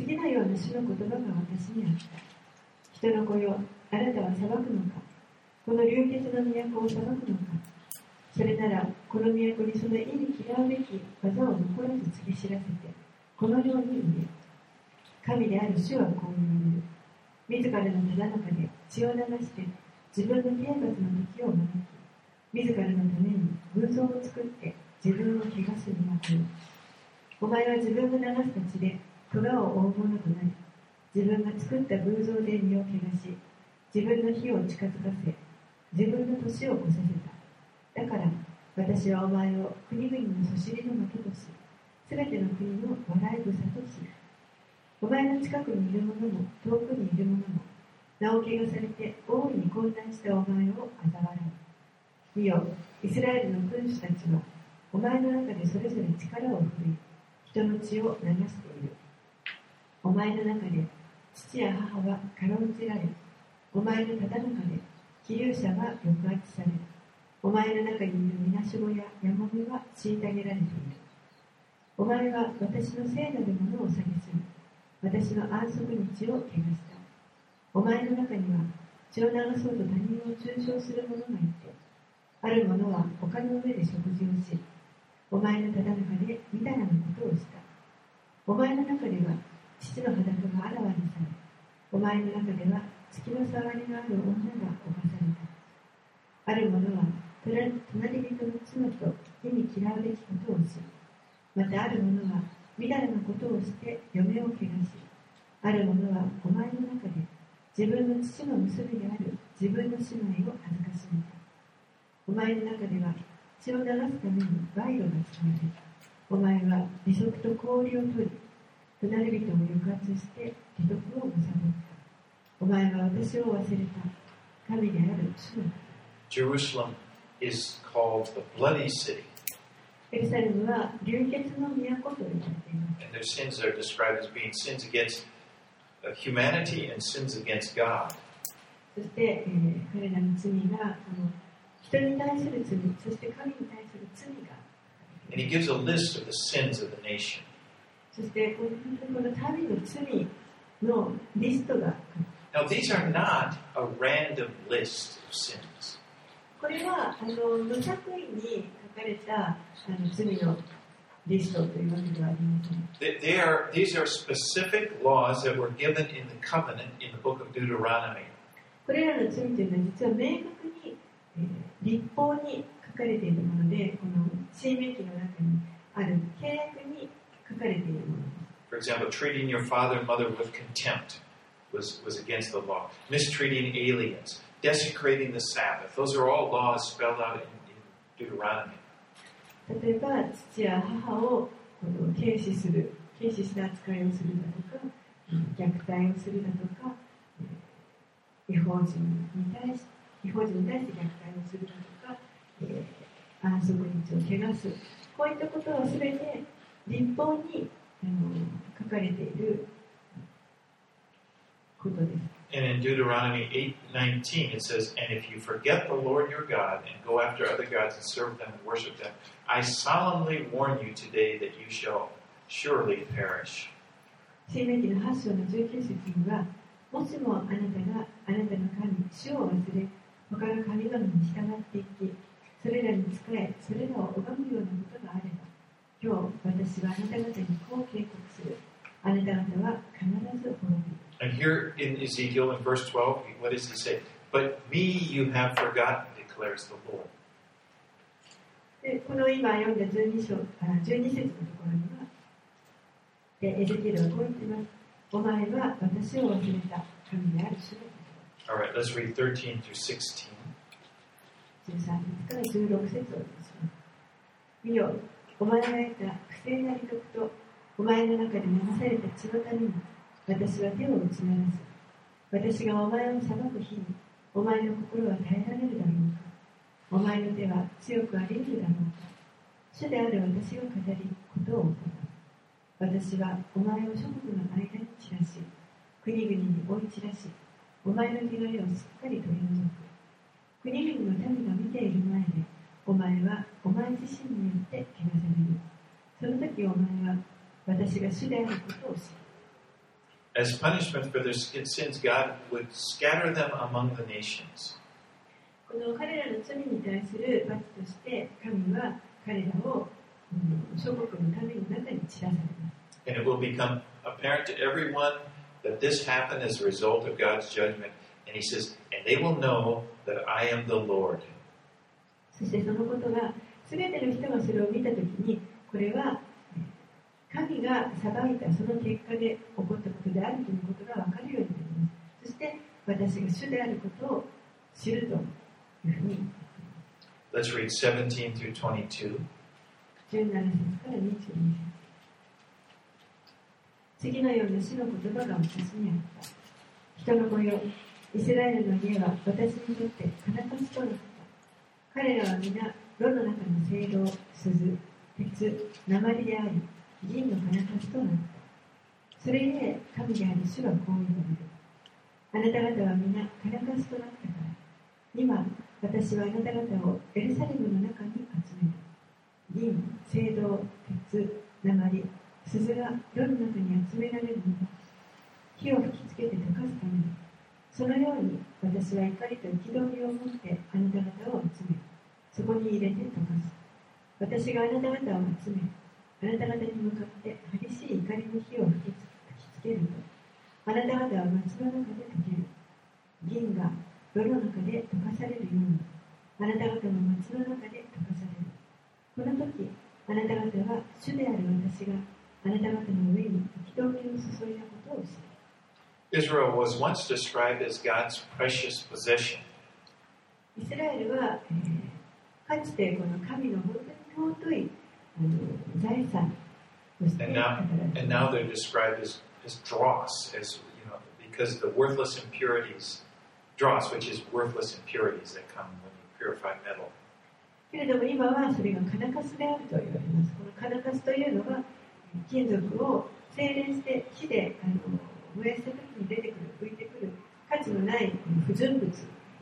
次のような主の言葉が私にあった。人の子よ、あなたは裁くのか。この流血の都を裁くのか。それなら、この都にその意に嫌うべき技を残らず告げ知らせて、このように言え。神である主はこう言われる。自らのただ中で血を流して、自分の刑罰の時を招き、自らのために偶像を作って自分を汚すにあたる。お前は自分が流した血で咎を負うものとなり、自分が作った偶像で身を汚し、自分の火を近づかせ、自分の年を越させた。だから私はお前を国々のそしりの的とし、すべての国の笑い草とし、お前の近くにいる者も遠くにいる者も、名を汚されて大いに混乱したお前を嘲笑う。見よ、イスラエルの君主たちはお前の中でそれぞれ力を振り、人の血を流している。お前の中で父や母はかろうじられ、お前のただ中で希有者は抑圧され、お前の中にいるみなしごややもめは虐げられている。お前は私の聖なるものを蔑み、私の安息日を汚した。お前の中には血を流そうと他人を中傷する者がいて、ある者は丘の上で食事をし、お前のただ中でみだらなことをした。お前の中では父の裸があらわにされ、お前の中では月の触りのある女が侵された。ある者は隣人の妻と忌み嫌うべきことをし、またある者はみだらなことをして嫁を汚し、ある者はお前の中で自分の父の娘である自分の姉妹を恥ずかしめた。お前の中では血を流すために賄賂が使われた。お前は利息と氷を取り、隣人を抑圧して利得を貪った。お前は私を忘れた。神である主の。 Jerusalem is called the bloody city. エルサレムは流血の都と呼ばれています。 And their sins are described as being sins against humanity and sins against God. そして、彼らの罪が人に対する罪、そして神に対する罪が。 And he gives a list of the sins of the nation. そしてこの民の罪のリストが。 Now these are not a random list of sins. これは無作為に書かれた罪のリストというわけではありません。 These are specific laws that were given in the covenant in the book of Deuteronomy. これらの罪というのは実は明確に、律法に書かれているもので、この申命記の中にある契約に書かれているものです。 For example, treating your father and mother with contempt was against the law. Mistreating aliens, desecrating the Sabbath. Those are all laws spelled out in Deuteronomy. 例えば、父や母を軽視した扱いをするだとか、虐待をするだとか、違法人に対して虐待をするだとか、安息日を汚す、こういったことはすべて律法に書かれていることです。 And in Deuteronomy 8:19 it says, "And if you forget the Lord your God and go after other gods and serve them and worship them, I solemnly warn you today that you shall surely perish." 申命記の8章の19節には、もしもあなたがあなたの神、主を忘れ、他の神々に従っていき、それらに仕え、それらを拝むようなことがあれば、今日私はあなた方にこう警告する。あなた方は必ず滅びる。 And here in Ezekiel in verse 12, what does he say? But me you have forgotten, declares the Lord. でこの今読んだ12節のところには、エゼキエルはこう言っています。お前は私を忘れた神である主のこと。 All right, let's read 13 through 16. 13節から16節を読みます。見よ、お前が得た不正な利得とお前の中で流された血のために私は手を打ち鳴らす。私がお前を裁く日にお前の心は耐えられるだろうか。お前の手は強くあり得るだろうか。主である私が語りことを行う。私はお前を諸国の間に散らし、国々に追い散らし、お前の汚れをすっかり取り除く。国々の民が見ている前で、お前はお前自身によって汚される。その時お前は私が主であることを知る。 As punishment for their sins, God would scatter them among the nations. この彼らの罪に対する罰として神は彼らを諸国の民の中に散らされます。 And it will become apparent to everyone that this happened as a result of God's judgment. And he says, and they will know that I am the Lord. そしてそのことが全ての人がそれを見たときに、これは神が裁いたその結果で起こったことであるということが分かるようになります。そして私が主であることを知るというふうに。 Let's read 17 through 22. 17節から22節。次のような主の言葉が私にあった。人の子よ、イスラエルの家は私にとって金貸しとなった。彼らは皆、炉の中の青銅、鈴、鉄、鉛であり、銀の金貸しとなった。それゆえ、神である主はこう言われる。あなた方は皆金貸しとなったから、今、私はあなた方をエルサレムの中に集める。銀、青銅、鉄、鉛、鈴が炉の中に集められるのは、火を吹きつけて溶かすためだ。そのように私は怒りと憤りを持ってあなた方を集め、そこに入れて溶かす。私があなた方を集め、あなた方に向かって激しい怒りの火を吹きつけると、あなた方は松の中で溶ける。銀が炉の中で溶かされるように、 あなた方の町の中で溶かされる。この時、あなた方は主である私があなた方の上に憤りを注いだことを知る。 Israel was once described as God's precious possession. イスラエルは、かつてこの神の本当に尊い財産として語られています。 And now they're described as dross, as because of the worthless impurities, dross, which is worthless impurities that come when you purify metal. けれども今はそれがカナカスであると言われます。このカナカスというのは金属を精錬して火で燃やした時に出てくる、浮いてくる価値のない不純物。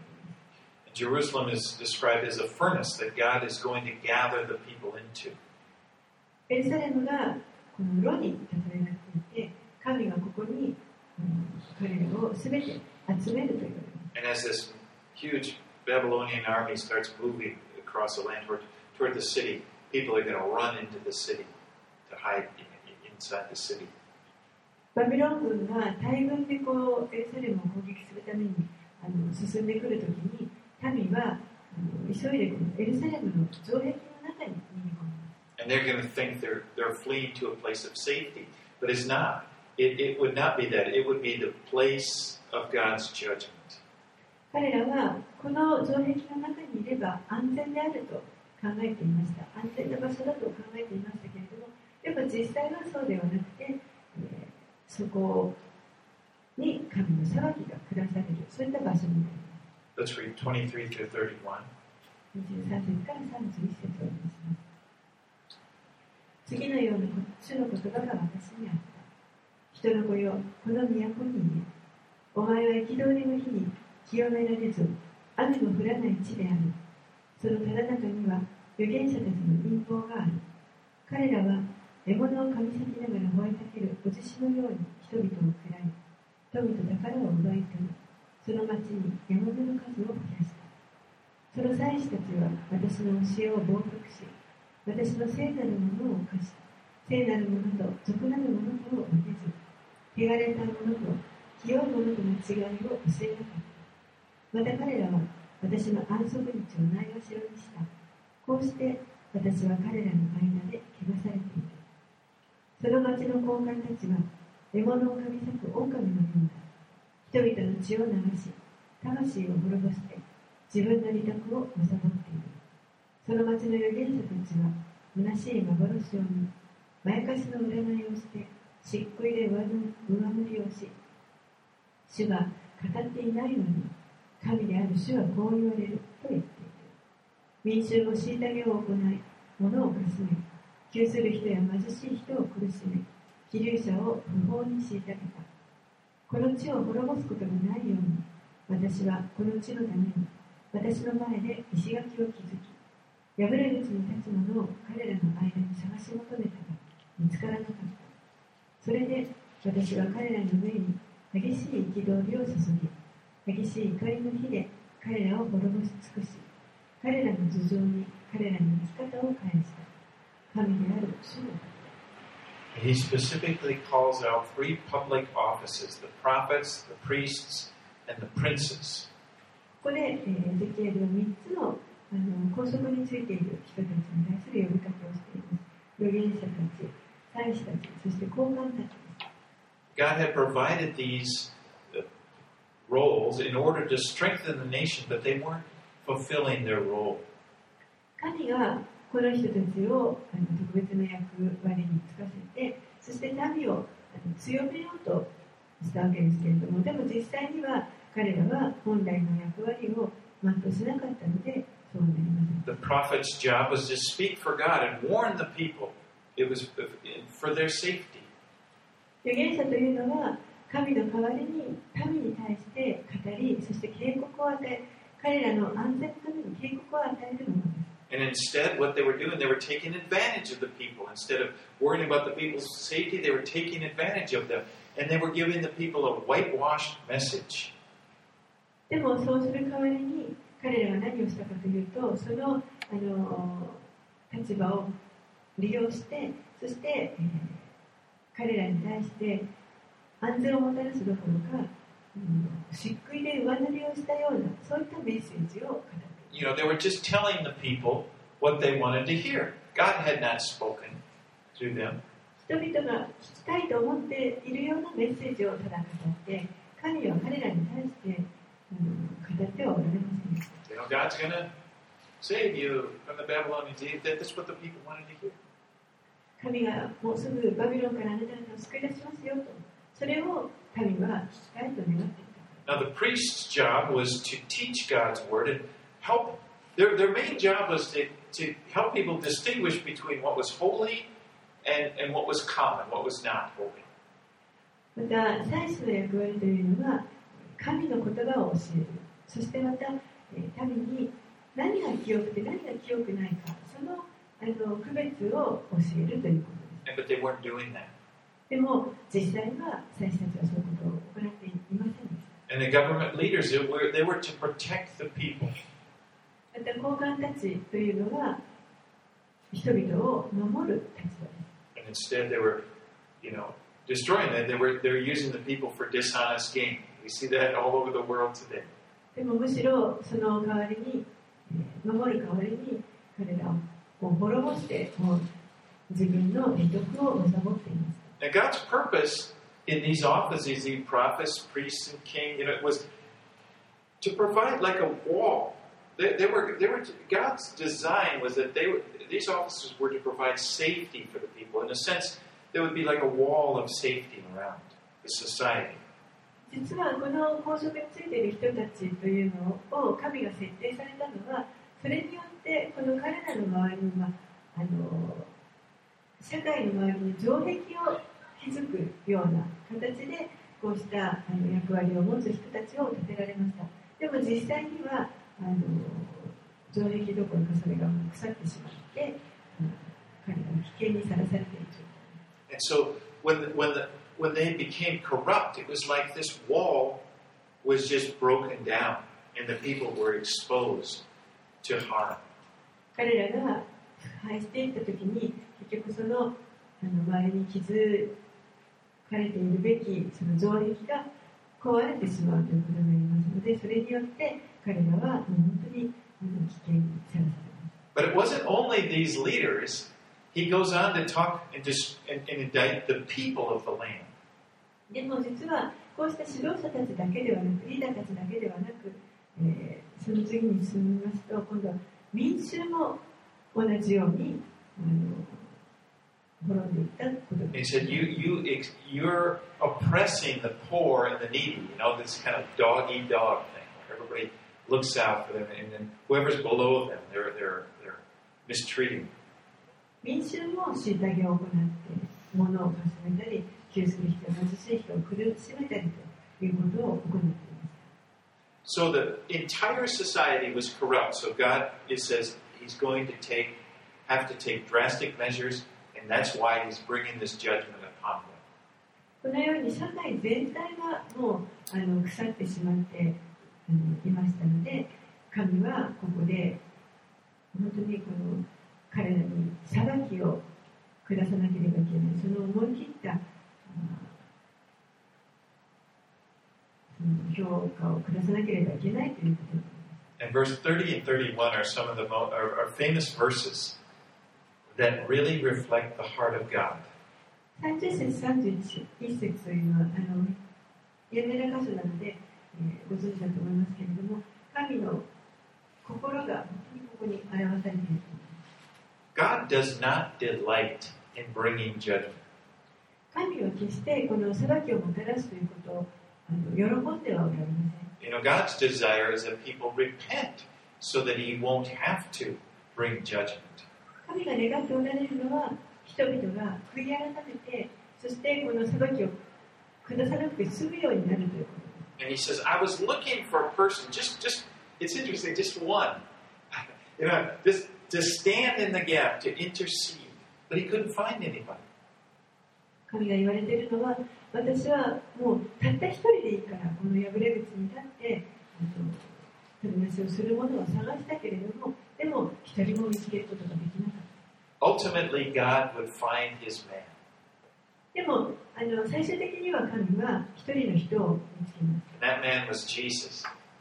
Jerusalem is described as a furnace that God is going to gather the people into. エルサレムがこの炉に例えられていて、神がここに彼らをすべて集めると言われます。 And as this huge Babylonian army starts moving across the land toward the city, people are going to run into the city to hide inside the city. バビロン軍が大軍でこうエルサレムを攻撃するために進んでくるときに、民は急いでこのエルサレムの城壁の中に逃げ込みます。 And they're going to think they're fleeing to a place of safety, but it's not. It would not be that. It would be the place of God's judgment. 彼らはこの城壁の中にいれば安全であると考えていました。安全な場所だと考えていましたけれども、やっぱ実際はそうではなくて、そこに神の裁きが下される、そういった場所になります。 Let's read 23 through 31. 23節から31節をお読みします。次のような主の言葉が私にあった。人の子よ、この都に言え。お前は憤りの日に清められず、雨の降らない地である。そのただ中には預言者たちの陰謀がある。彼らは獲物を噛み裂きながら吠えたけるお獅子のように人々を喰らい、富と宝を奪い取り、その町に獲物の数を増やした。その祭司たちは私の教えを冒涜し、私の聖なるものを犯し、聖なるものと俗なるものとを分けず、汚れたものと清いものとの違いを教えなかった。また彼らは私の安息日をないがしろにした。こうして私は彼らの間で汚されている。その町の高官たちは獲物を噛み裂く狼のようだ。人々の血を流し、魂を滅ぼして自分の利得を貪っている。その町の預言者たちは虚しい幻を見、まやかしの占いをして漆喰で上塗りをし、主が語っていないのに神である主はこう言われると言っている。民衆も虐げを行い、物をかすめ、窮する人や貧しい人を苦しめ、希流者を不法に虐げた。この地を滅ぼすことがないように、私はこの地のために私の前で石垣を築き、破れ口に立つ者を彼らの間に探し求めたが見つからなかった。それで私は彼らの上に激しい憤りを注ぎ、激しい怒りの火で彼らを滅ぼし尽くし、彼らの頭上に彼らの生き方を返した。神である主の。 He specifically calls out three public offices: the prophets, the priests, and the princes. ここでエゼキエルは3つの拘束についている人たちに対する呼びかけをしています。預言者たち、祭司たち、そして高官たちです。 God had provided these roles in order to strengthen the nation, but they weren't fulfilling their role. 神がこの人たちを特別な役割に就かせて、そして民を強めようとしたわけですけれども、でも実際には彼らは本来の役割を全うしなかったので、そうなりません。 The prophet's job was to speak for God and warn the people. It was for their safety. 預言者というのは神の代わりに民に対して語り、そして警告を与え、彼らの安全のために警告を与えるものです。 And instead, what they were doing, they were taking advantage of the people. Instead of worrying about the people's safety, they were taking advantage of them. And they were giving the people a whitewashed message. でもそうする代わりに彼らは何をしたかというと、その立場を利用して、そして、彼らに対して安全をもたらすどころか、漆喰で上塗りをしたような、そういったメッセージを語っています。 they were just telling the people what they wanted to hear. God had not spoken through them. 人々が聞きたいと思っているようなメッセージをただ語って、神は彼らに対して語ってはおられませんでした。 God's going to save you from the Babylonians. That's what the people wanted to hear. 神がもうすぐバビロンからあなた方を救い出しますよと、それを民は聞きたいと願っていた。 Now the priest's job was to teach God's word and help. Their main job was to help people distinguish between what was holy and what was common, what was not holy. また祭司の役割というのは神の言葉を教える。そしてまた民に何が清くて何が清くないか、その区別を教えるということです。 But they weren't doing that. でも実際は祭司たちはそういうことを行っていませんでした。 And the government leaders, they were to protect the people. また高官たちというのは人々を守る立場です。 And instead they were, destroying them. They were using the people for dishonest gain. We see that all over the world today. でもむしろその代わりに守る代わりに彼らを滅ぼして自分の利得を貪っています。 And God's purpose in these offices, these prophets, priests, and king, it was to provide like a wall. They were God's design was that these offices were to provide safety for the people. In a sense, there would be like a wall of safety around the society. 実はこの皇職についている人たちというのを神が設定されたのは、それによってこの彼らの周りに社会の周りに城壁を築くような形でこうした役割を持つ人たちを立てられました。でも実際には城壁どころかそれが腐ってしまって彼らは危険にさらされている状態。 And so when they became corrupt, it was like this wall was just broken down, and the people were exposed to harm. 彼らが腐敗していったときに結局その周りに築かれているべきその城壁が壊れてしまうということになりますので、それによって彼らはもう本当に危険にさらされます。 But it wasn't only these leaders. He goes on to talk and indict the people of the land. でも実はこうした指導者たちだけではなく、リーダーたちだけではなく、その次に進みますと、今度は民衆も同じように滅んでいったことです。 He said, "You're oppressing the poor and the needy. This kind of dog-eat-dog thing. Everybody looks out for them, and then whoever's below them, they're mistreating them." 民衆も虐げを行って、物をかすめたり、窮する人、貧しい人を苦しめたりということを行っています。 So the entire society was corrupt. So God, it says, He's going to have to take drastic measures, and that's why He's bringing this judgment upon them. このように社会全体がもう腐ってしまっていましたので、神はここで本当にこの彼らに裁きを下さなければいけない、その思い切った評価を下さなければいけないということです。 And verse 30 and 31 are some of the are famous verses that really reflect the heart of God. 30節31節というのは有名な箇所なので、ご存知だと思いますけれども、神の心が本当にここに表されていると思います。 God does not delight in bringing judgment. 神は決してこの裁きをもたらすということを喜んではおられません。 God's desire is that people repent so that He won't have to bring judgment. 神が願っておられるのは人々が悔い改めて、そしてこの裁きを下さなくて済むようになるということです。 And He says, I was looking for a person, just it's interesting, just one, just to stand in the gap, to intercede, but He couldn't find anybody. 神が言われているのは、私はもうたった一人でいいからこの破れ口に立って取りなしをするものを探したけれども、でも一人も見つけることができなかった。 Ultimately, God would find His man. でも最終的には神は一人の人を見つけます。 And that man was Jesus.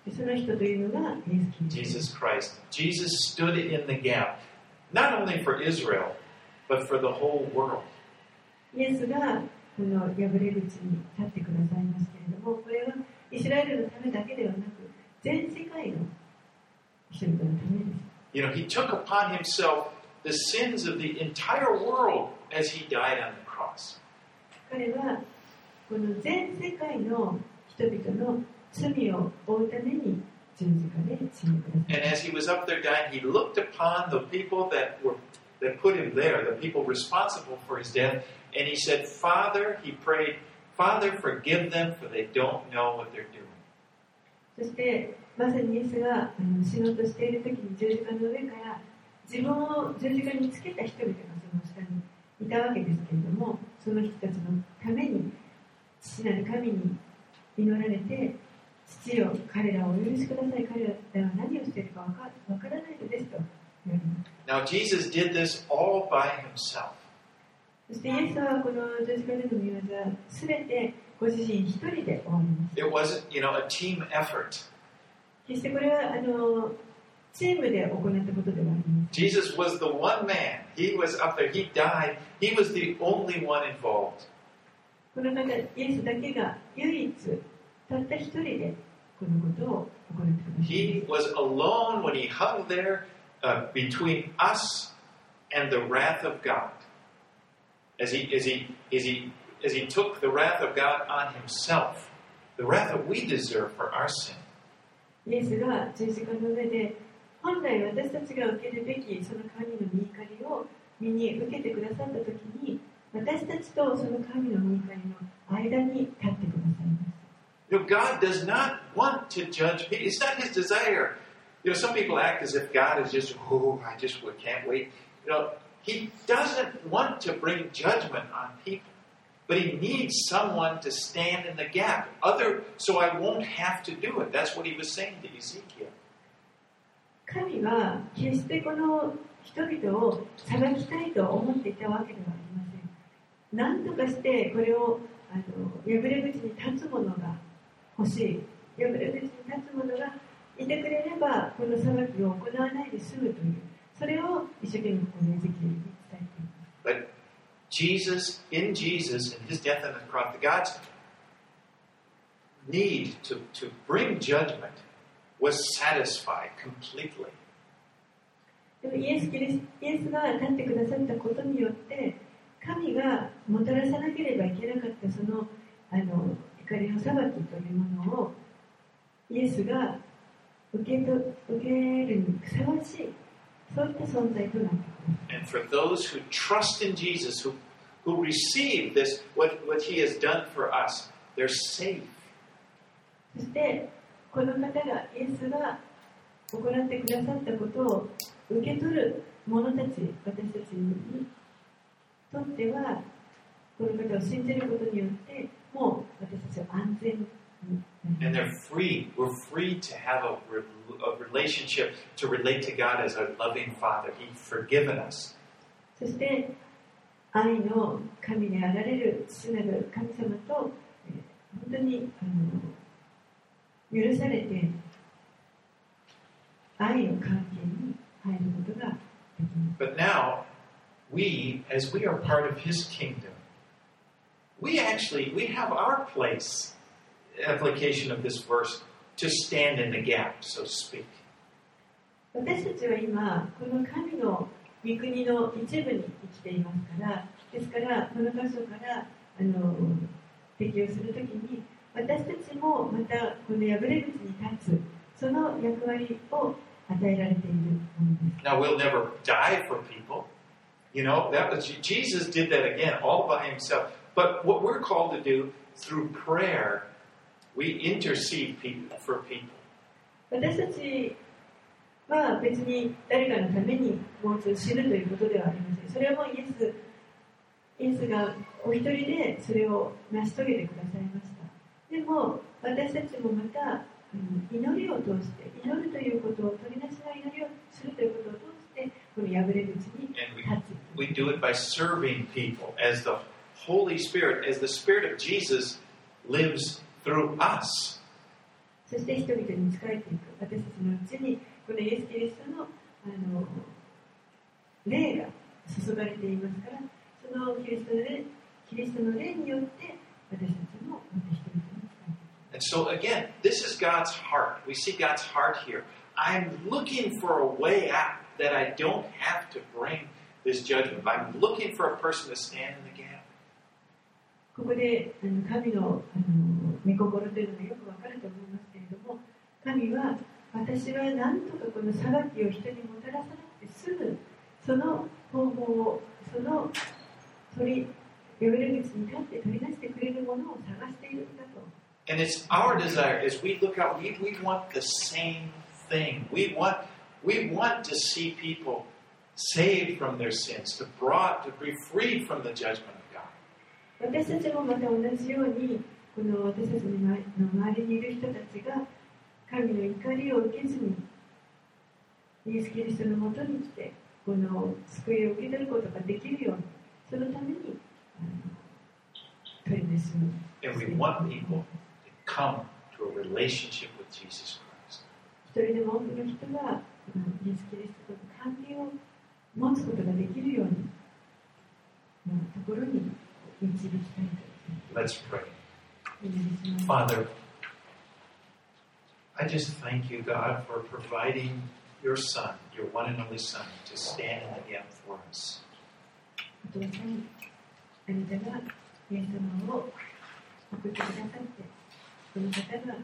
その人というのがイエス・キリスト。 Jesus Christ. Jesus stood in the gap, not only for Israel, but for the whole world. イエスがこの破れ口に立ってくださいますけれども、これはイスラエルのためだけではなく、全世界の人々のためです。 You know, he took upon himself the sins of the entire world as he died on the cross. 彼はこの全世界の人々の罪を負うために十字架で死んでください。 And as he was up there dying, he looked upon the people that put him there, the people responsible for his death, and he said, Father, he prayed, Father, forgive them, for they don't know what they're doing. そしてまさにイエスが死のうとしている時に十字架の上から自分を十字架につけた人々がその下にいたわけですけれども、その人たちのために父なる神に祈られて、父よ、彼らをお許しください、彼らは何をしているかわからないのですと言われます。 Now, Jesus did this all by himself. そしてイエスはこの十字架での御業すべてご自身一人で終わります。 It wasn't, a team effort. 決してこれはチームで行ったことではありません。 Jesus was the one man. He was up there. He died. He was the only one involved. この方、イエスだけが唯一たった一人でこのことを行ってください。 He was alone when he hung there between us and the wrath of God. As he took the wrath of God on himself, the wrath that we deserve for our sin. イエスが十字架の上で本来私たちが受けるべきその神の御怒りを身に受けてくださったときに、私たちとその神の御怒りの間に立ってくださいます。 God does not want to judge people. It's not his desire. Some people act as if God is just, I just can't wait. He doesn't want to bring judgment on people, but he needs someone to stand in the gap. So I won't have to do it. That's what he was saying to Ezekiel. 神は決してこの人々を裁きたいと思っていたわけではありません。何とかしてこれを破れ口に立つ者が欲しい。破れ口に立つ者がいてくれればこの裁きを行わないで済むという、それを一生懸命このエゼキエルに伝えています。 But in Jesus, in his death on the cross, God's need to bring judgment was satisfied completely. でもイエスが立ってくださったことによって神がもたらさなければいけなかったその怒りの裁きというものをイエスが受けるにふさわしい、そういった存在となっています。 And for those who trust in Jesus, who receive this, what he has done for us, they're safe. そしてこの方がイエスが行ってくださったことを受け取る者たち、私たちにとってはこの方を信じることによってもう私たちは安全に。 And they're free. We're free to have a relationship to relate to God as a loving Father. He's forgiven us. そして愛の神であられる父なる神様と本当に許されて愛の関係に入ることができます。 But now, as we are part of His kingdom, we have our place, application of this verse, to stand in the gap, so to speak. 私たちは今この神の御国の一部に生きていますから、ですからこの箇所から適用するときに私たちもまたこの破れ口に立つその役割を与えられているものです。 Now, we'll never die for people. Jesus did that again all by himself. But what we're called to do through prayer, we intercede for people. 私たちは別に誰かのためにもう一度死ぬということではありません。それはもうイエスがお一人でそれを成し遂げてくださいました。でも私たちもまた祈りを通して祈るということを取りなしの祈りをするということを通してこの破れ口に立つ。 We do it by serving people as the Holy Spirit, as the Spirit of Jesus lives through us. そして人々に仕えていく。私たちのうちにこのイエス・キリストの霊が注がれていますから、そのキリストの霊によって私たちもまた人々に仕えていく。 And so again, this is God's heart. We see God's heart here. I'm looking for a way out that I don't have to bring this judgment. I'm looking for a person to stand in the gap. ここで神の御心というのがよくわかると思いますけれども、神は私は何とかこの裁きを人にもたらさなくて済むその方法をその破れ口に立って取り出してくれるものを探しているんだと。 And it's our desire as we look out, we want the same thing. We want to see people saved from their sins, to be freed from the judgment of God. 私たちもまた同じように、この私たちの周りにいる人たちが神の怒りを受けずにイエス・キリストのもとに来てこの救いを受け取ることができるように、そのために取り出す。 And we want people to come to a relationship with Jesus Christ. 一人でも多くの人がイエス・キリストとの関係を持つことができるようにのところに導きたいと。 Let's pray. Father, I just thank you, God, for providing your Son, your one and only Son, to stand in the gap for us. お父さん、あなたがイエス様を送ってくださって、その方が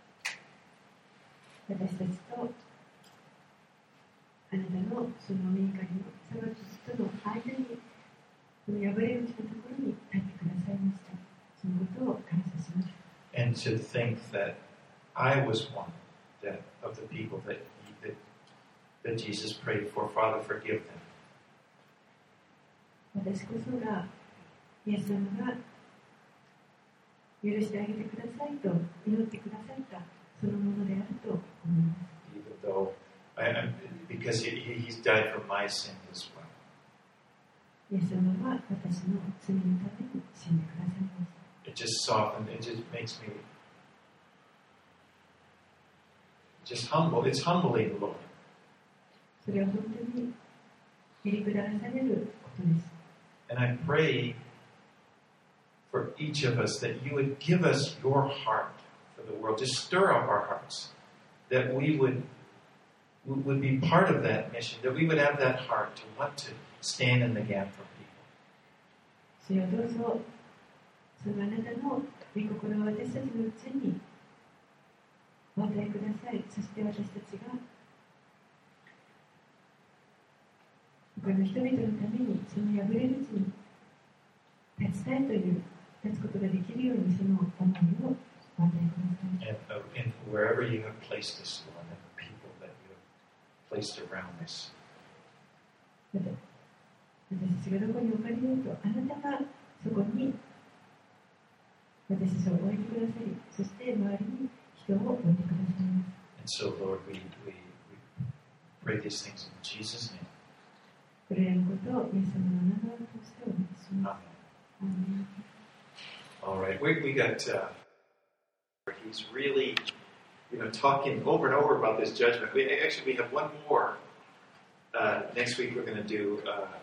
私たちとあなたのその御怒りの裁きとの間に、この破れ口のところに立ってくださいました。そのことを感謝します。 And to think that I was one of the people that Jesus prayed for. Father, forgive them. 私こそがイエス様が許してあげてくださいと祈ってくださったそのものであると思います。 Even though, because he's died for my sins as well. イエス様は私の罪のために死んでくださいました。 It just softened. It just makes me just humble. It's humbling, Lord. それは本当にへりくだらされることです。 And I pray for each of us that you would give us your heart for the world. Just stir up our hearts. That we would be part of that mission. That we would have that heart to want to stand in the gap for people. 主よどうぞ、そのあなたの御心を私たちのうちにお与えください。そして私たちが他の人々のためにその破れ口に立ちたいという立つことができるようにその思いをお与えください。 And wherever you have placed us, Lord, and the people that you have placed around us. 私たちがどこに置かれようと、あなたがそこに私たちを置いてくださり、そして周りに人を置いてくださいます。 And so, Lord, we pray these things in Jesus' name. これらのことをイエス様の名前を通してお願いします。 All right, we got. He's really, talking over and over about this judgment. We have one more. Next week we're going to do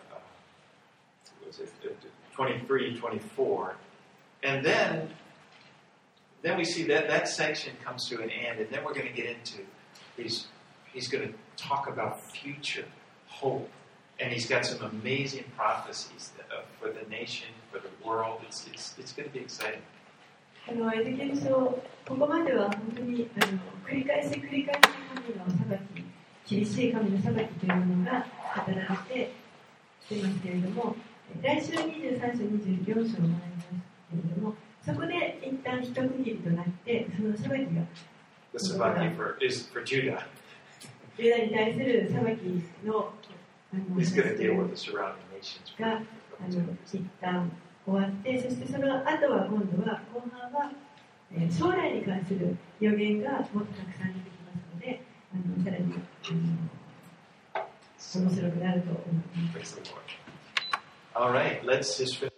23, 24, and then we see that section comes to an end, and then we're going to get into he's going to talk about future hope. And he's got some amazing prophecies for the nation, for the world. It's going to be exciting. エゼキエル書、ここまでは本当に繰り返し神の裁き、厳しい神の裁きというものが語られてきていますけれども、来週23章、24章を学びますけれども、そこで一旦一区切りとなって、その裁きが The sabbath is for Judah. ユダに対する裁きの He's going to deal with the surrounding nations. が一旦終わって、そしてその後は今度は後半は将来に関する予言がもっとたくさん出てきますので、さらに面白くなると思います。 All right, let's just finish.